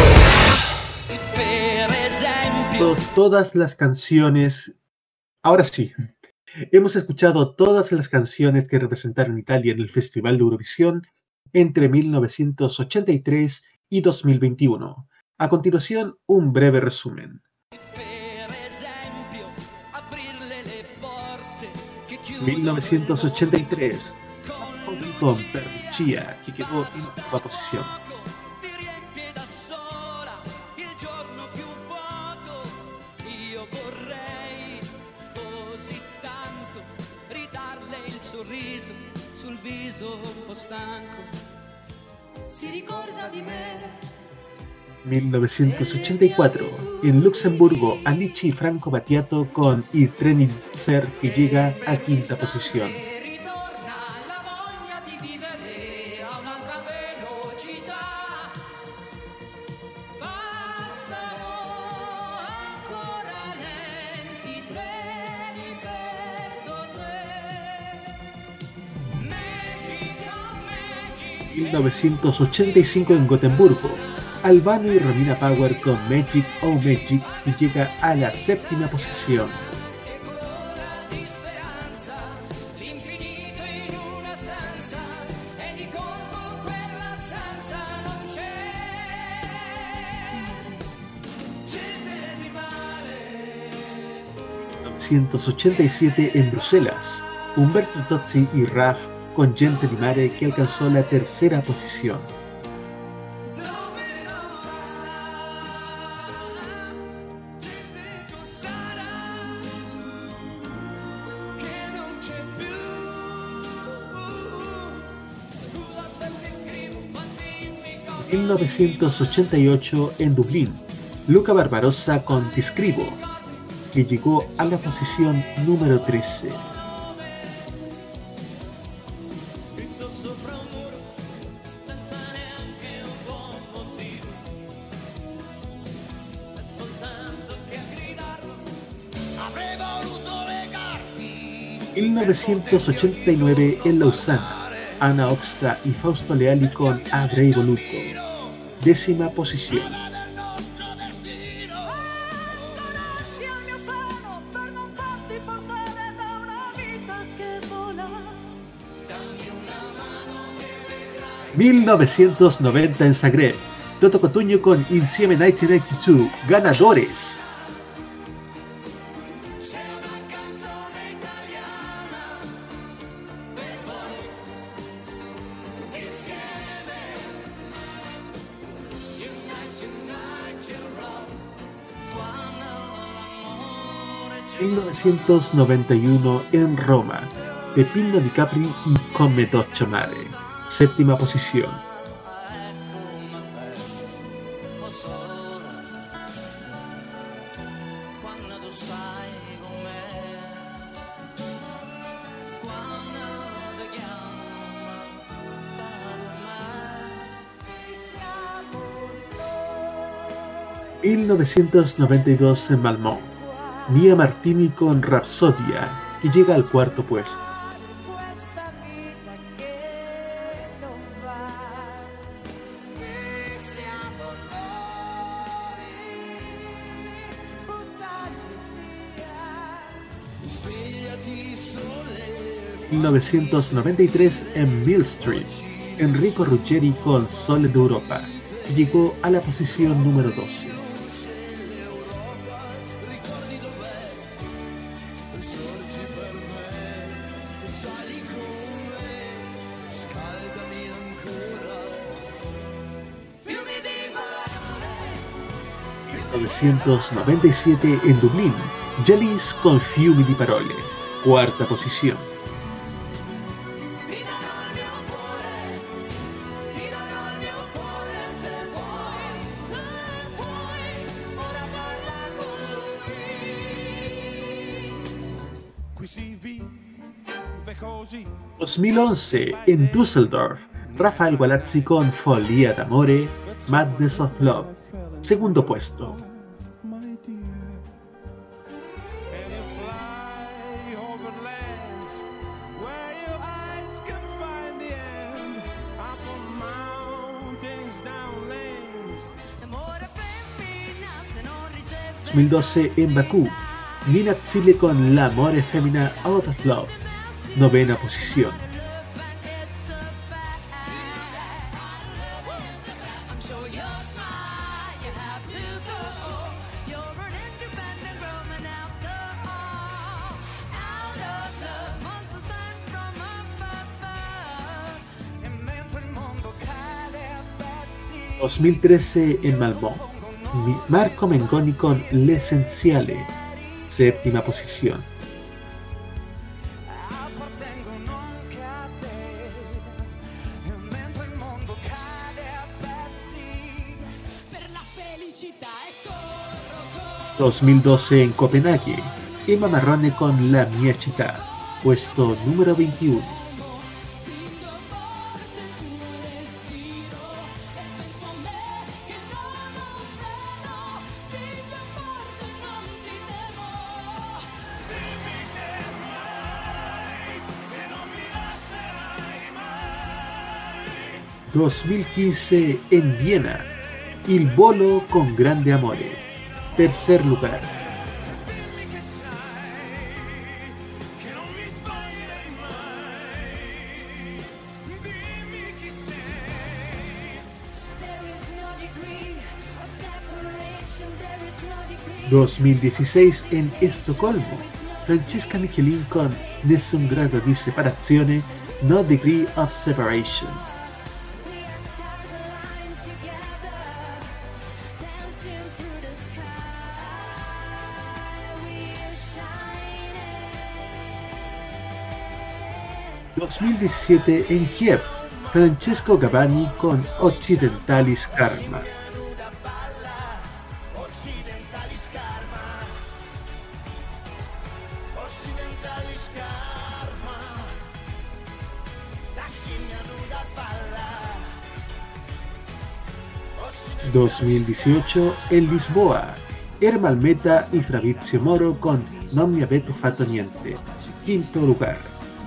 B: Todas las canciones. Ahora sí, hemos escuchado todas las canciones que representaron Italia en el Festival de Eurovisión entre 1983 y 2021. A continuación, un breve resumen. 1983, con Percia, que quedó en octava posición.
E: Sorriso sul viso un po' stanco, si ricorda di me.
B: 1984, en Luxemburgo, Anici y Franco Battiato con I treni di Zer, que llega a quinta posición. En 1985 en Gotemburgo, Albano y Romina Power con Magic Oh Magic y llega a la 7ª posición. ...1987 en Bruselas, Umberto Tozzi y Raf con Gente di Mare, que alcanzó la 3ª posición. En 1988 en Dublín, Luca Barbarossa con Ti scrivo, que llegó a la posición número 13. En 1989 en Lausana, Anna Oxtra y Fausto Leali con Avrei voluto, 10ª posición. ...1990 en Zagreb, Toto Cotugno con Insieme 1992, ganadores. En 1991 en Roma, Peppino Di Capri y Come Doccia Mare, 7ª posición. En 1992 en Malmö, Mia Martini con Rapsodia, que llega al 4º puesto. En 1993 en Mill Street, Enrico Ruggeri con Sole d'Europa, que llegó a la posición número 12. En 1997 en Dublín, Jalis con Fiumi di Parole, 4ª posición. En 2011 en Düsseldorf, Rafael Gualazzi con Follia d'amore, Madness of Love, 2º puesto. En 2012 en Bakú, Nina Zille con L'amore femmina out of love, 9ª posición. En 2013 en Malmö, Marco Mengoni con L'Essenziale, 7ª posición. En 2012 en Copenhague, Emma Marrone con La mia città, puesto número 21. En 2015 en Viena, Il Bolo con Grande Amore, tercer lugar. ...2016 en Estocolmo, Francesca Michelin con Nessun grado di separazione, No Degree of Separation. ...2017 en Kiev, Francesco Gavani con Occidentalis Karma. ...2018 en Lisboa, Ermal Meta y Fabrizio Moro con Non mi avete fatto niente, quinto lugar.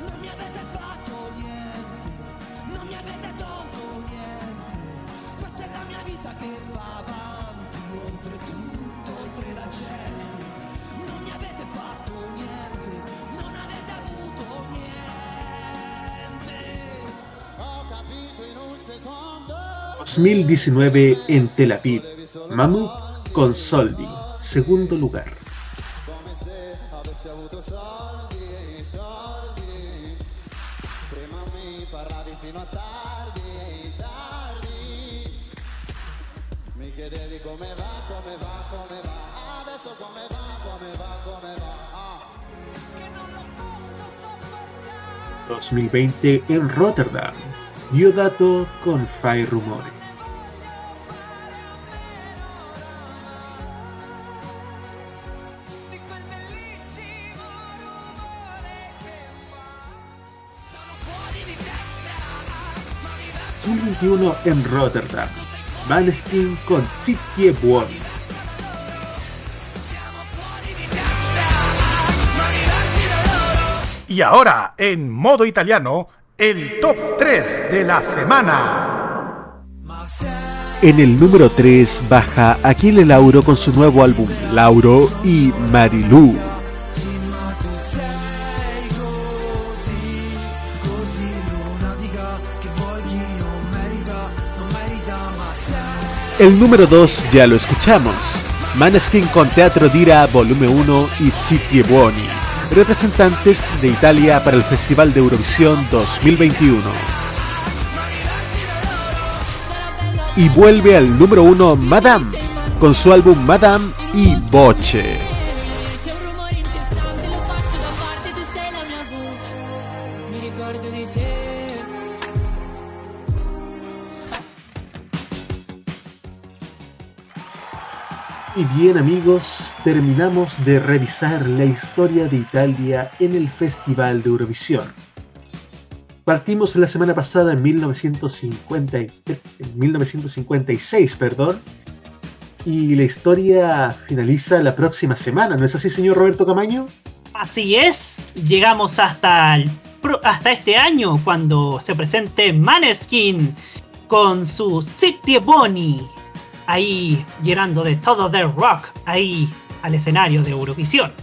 B: ...2019 en Tel Aviv, Mammoth con Soldi, segundo lugar.
T: Mi chiedevi come va, adesso come va.
B: 2020 en Rotterdam, Diodato con Fai Rumore. ...2021 en Rotterdam, Maneskin con Zitti e Buoni.
K: Y ahora, en modo italiano, el top 3 de la semana.
B: En el número 3 baja Achille Lauro con su nuevo álbum Lauro y Marilù. El número 2 ya lo escuchamos, Maneskin con Teatro d'Ira Volume 1 y Zitti e Buoni, representantes de Italia para el Festival de Eurovisión 2021. Y vuelve al número 1 Madame, con su álbum Madame y Voce. Y bien amigos, terminamos de revisar la historia de Italia en el Festival de Eurovisión. Partimos la semana pasada en 1956, y la historia finaliza la próxima semana, ¿no es así, señor Roberto Camaño?
C: Así es, llegamos hasta este año cuando se presente Maneskin con su Zitti e Buoni, ahí llenando de todo de rock ahí al escenario de Eurovisión.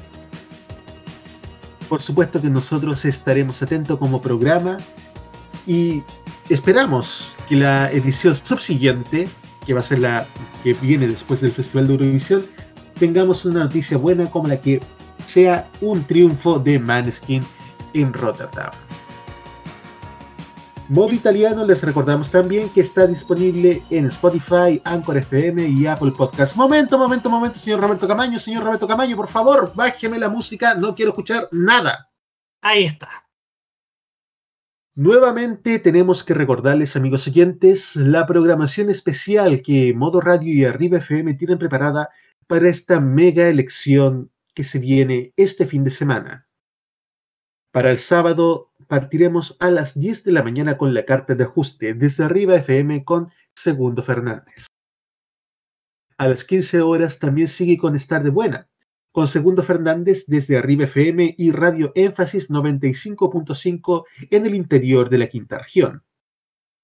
B: Por supuesto que nosotros estaremos atentos como programa y esperamos que la edición subsiguiente, que va a ser la que viene después del Festival de Eurovisión, tengamos una noticia buena como la que sea un triunfo de Maneskin en Rotterdam. Modo Italiano, les recordamos también que está disponible en Spotify, Anchor FM y Apple Podcast. Momento, señor Roberto Camaño. Señor Roberto Camaño, por favor, bájeme la música, no quiero escuchar nada.
C: Ahí está.
B: Nuevamente tenemos que recordarles, amigos oyentes, la programación especial que Modo Radio y Arriba FM tienen preparada para esta mega elección que se viene este fin de semana. Para el sábado partiremos a las 10 de la mañana con la carta de ajuste desde Arriba FM con Segundo Fernández. A las 15 horas también sigue con Estar de Buena, con Segundo Fernández desde Arriba FM y Radio Énfasis 95.5 en el interior de la quinta región.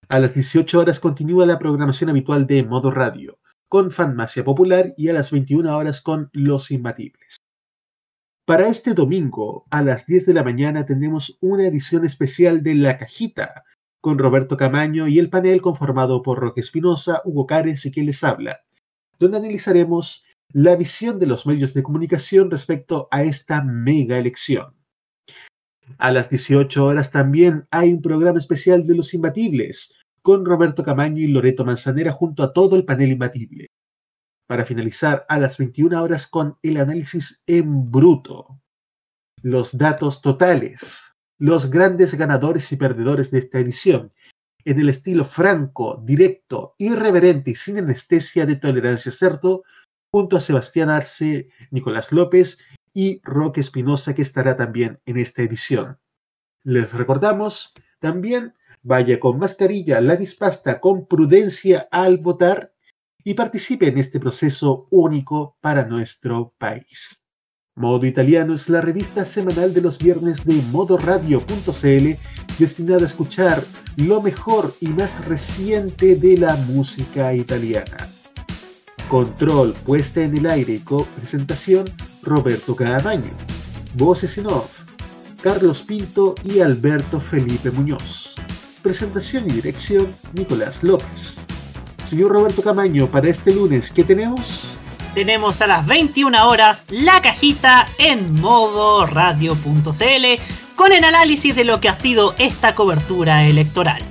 B: A las 18 horas continúa la programación habitual de Modo Radio, con Farmacia Popular, y a las 21 horas con Los Imbatibles. Para este domingo, a las 10 de la mañana, tendremos una edición especial de La Cajita, con Roberto Camaño y el panel conformado por Roque Espinosa, Hugo Cárez y quien les habla, donde analizaremos la visión de los medios de comunicación respecto a esta mega elección. A las 18 horas también hay un programa especial de Los Imbatibles, con Roberto Camaño y Loreto Manzanera junto a todo el panel imbatible. Para finalizar a las 21 horas con el análisis en bruto, los datos totales, los grandes ganadores y perdedores de esta edición, en el estilo franco, directo, irreverente y sin anestesia de Tolerancia Cerdo, junto a Sebastián Arce, Nicolás López y Roque Espinosa, que estará también en esta edición. Les recordamos también, vaya con mascarilla, lápiz pasta, con prudencia al votar, y participe en este proceso único para nuestro país. Modo Italiano es la revista semanal de los viernes de modoradio.cl, destinada a escuchar lo mejor y más reciente de la música italiana. Control, puesta en el aire y co-presentación, Roberto Camaño. Voces en off, Carlos Pinto y Alberto Felipe Muñoz. Presentación y dirección, Nicolás López. Señor Roberto Camaño, para este lunes, ¿qué tenemos?
C: Tenemos a las 21 horas La Cajita en modoradio.cl con el análisis de lo que ha sido esta cobertura electoral.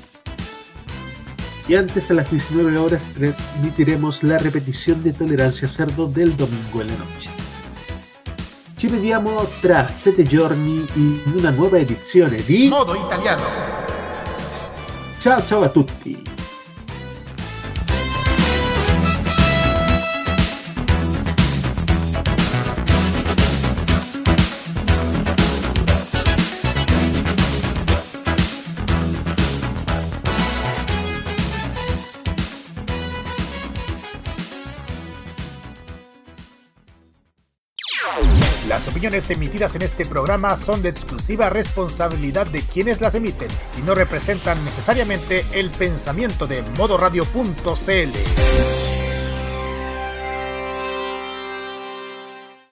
B: Y antes, a las 19 horas, transmitiremos la repetición de Tolerancia Cerdo del domingo en la noche. Ci vediamo tra 7 giorni in una nuova edizione di
K: Modo Italiano.
B: Ciao ciao a tutti.
K: Las opiniones emitidas en este programa son de exclusiva responsabilidad de quienes las emiten y no representan necesariamente el pensamiento de modoradio.cl.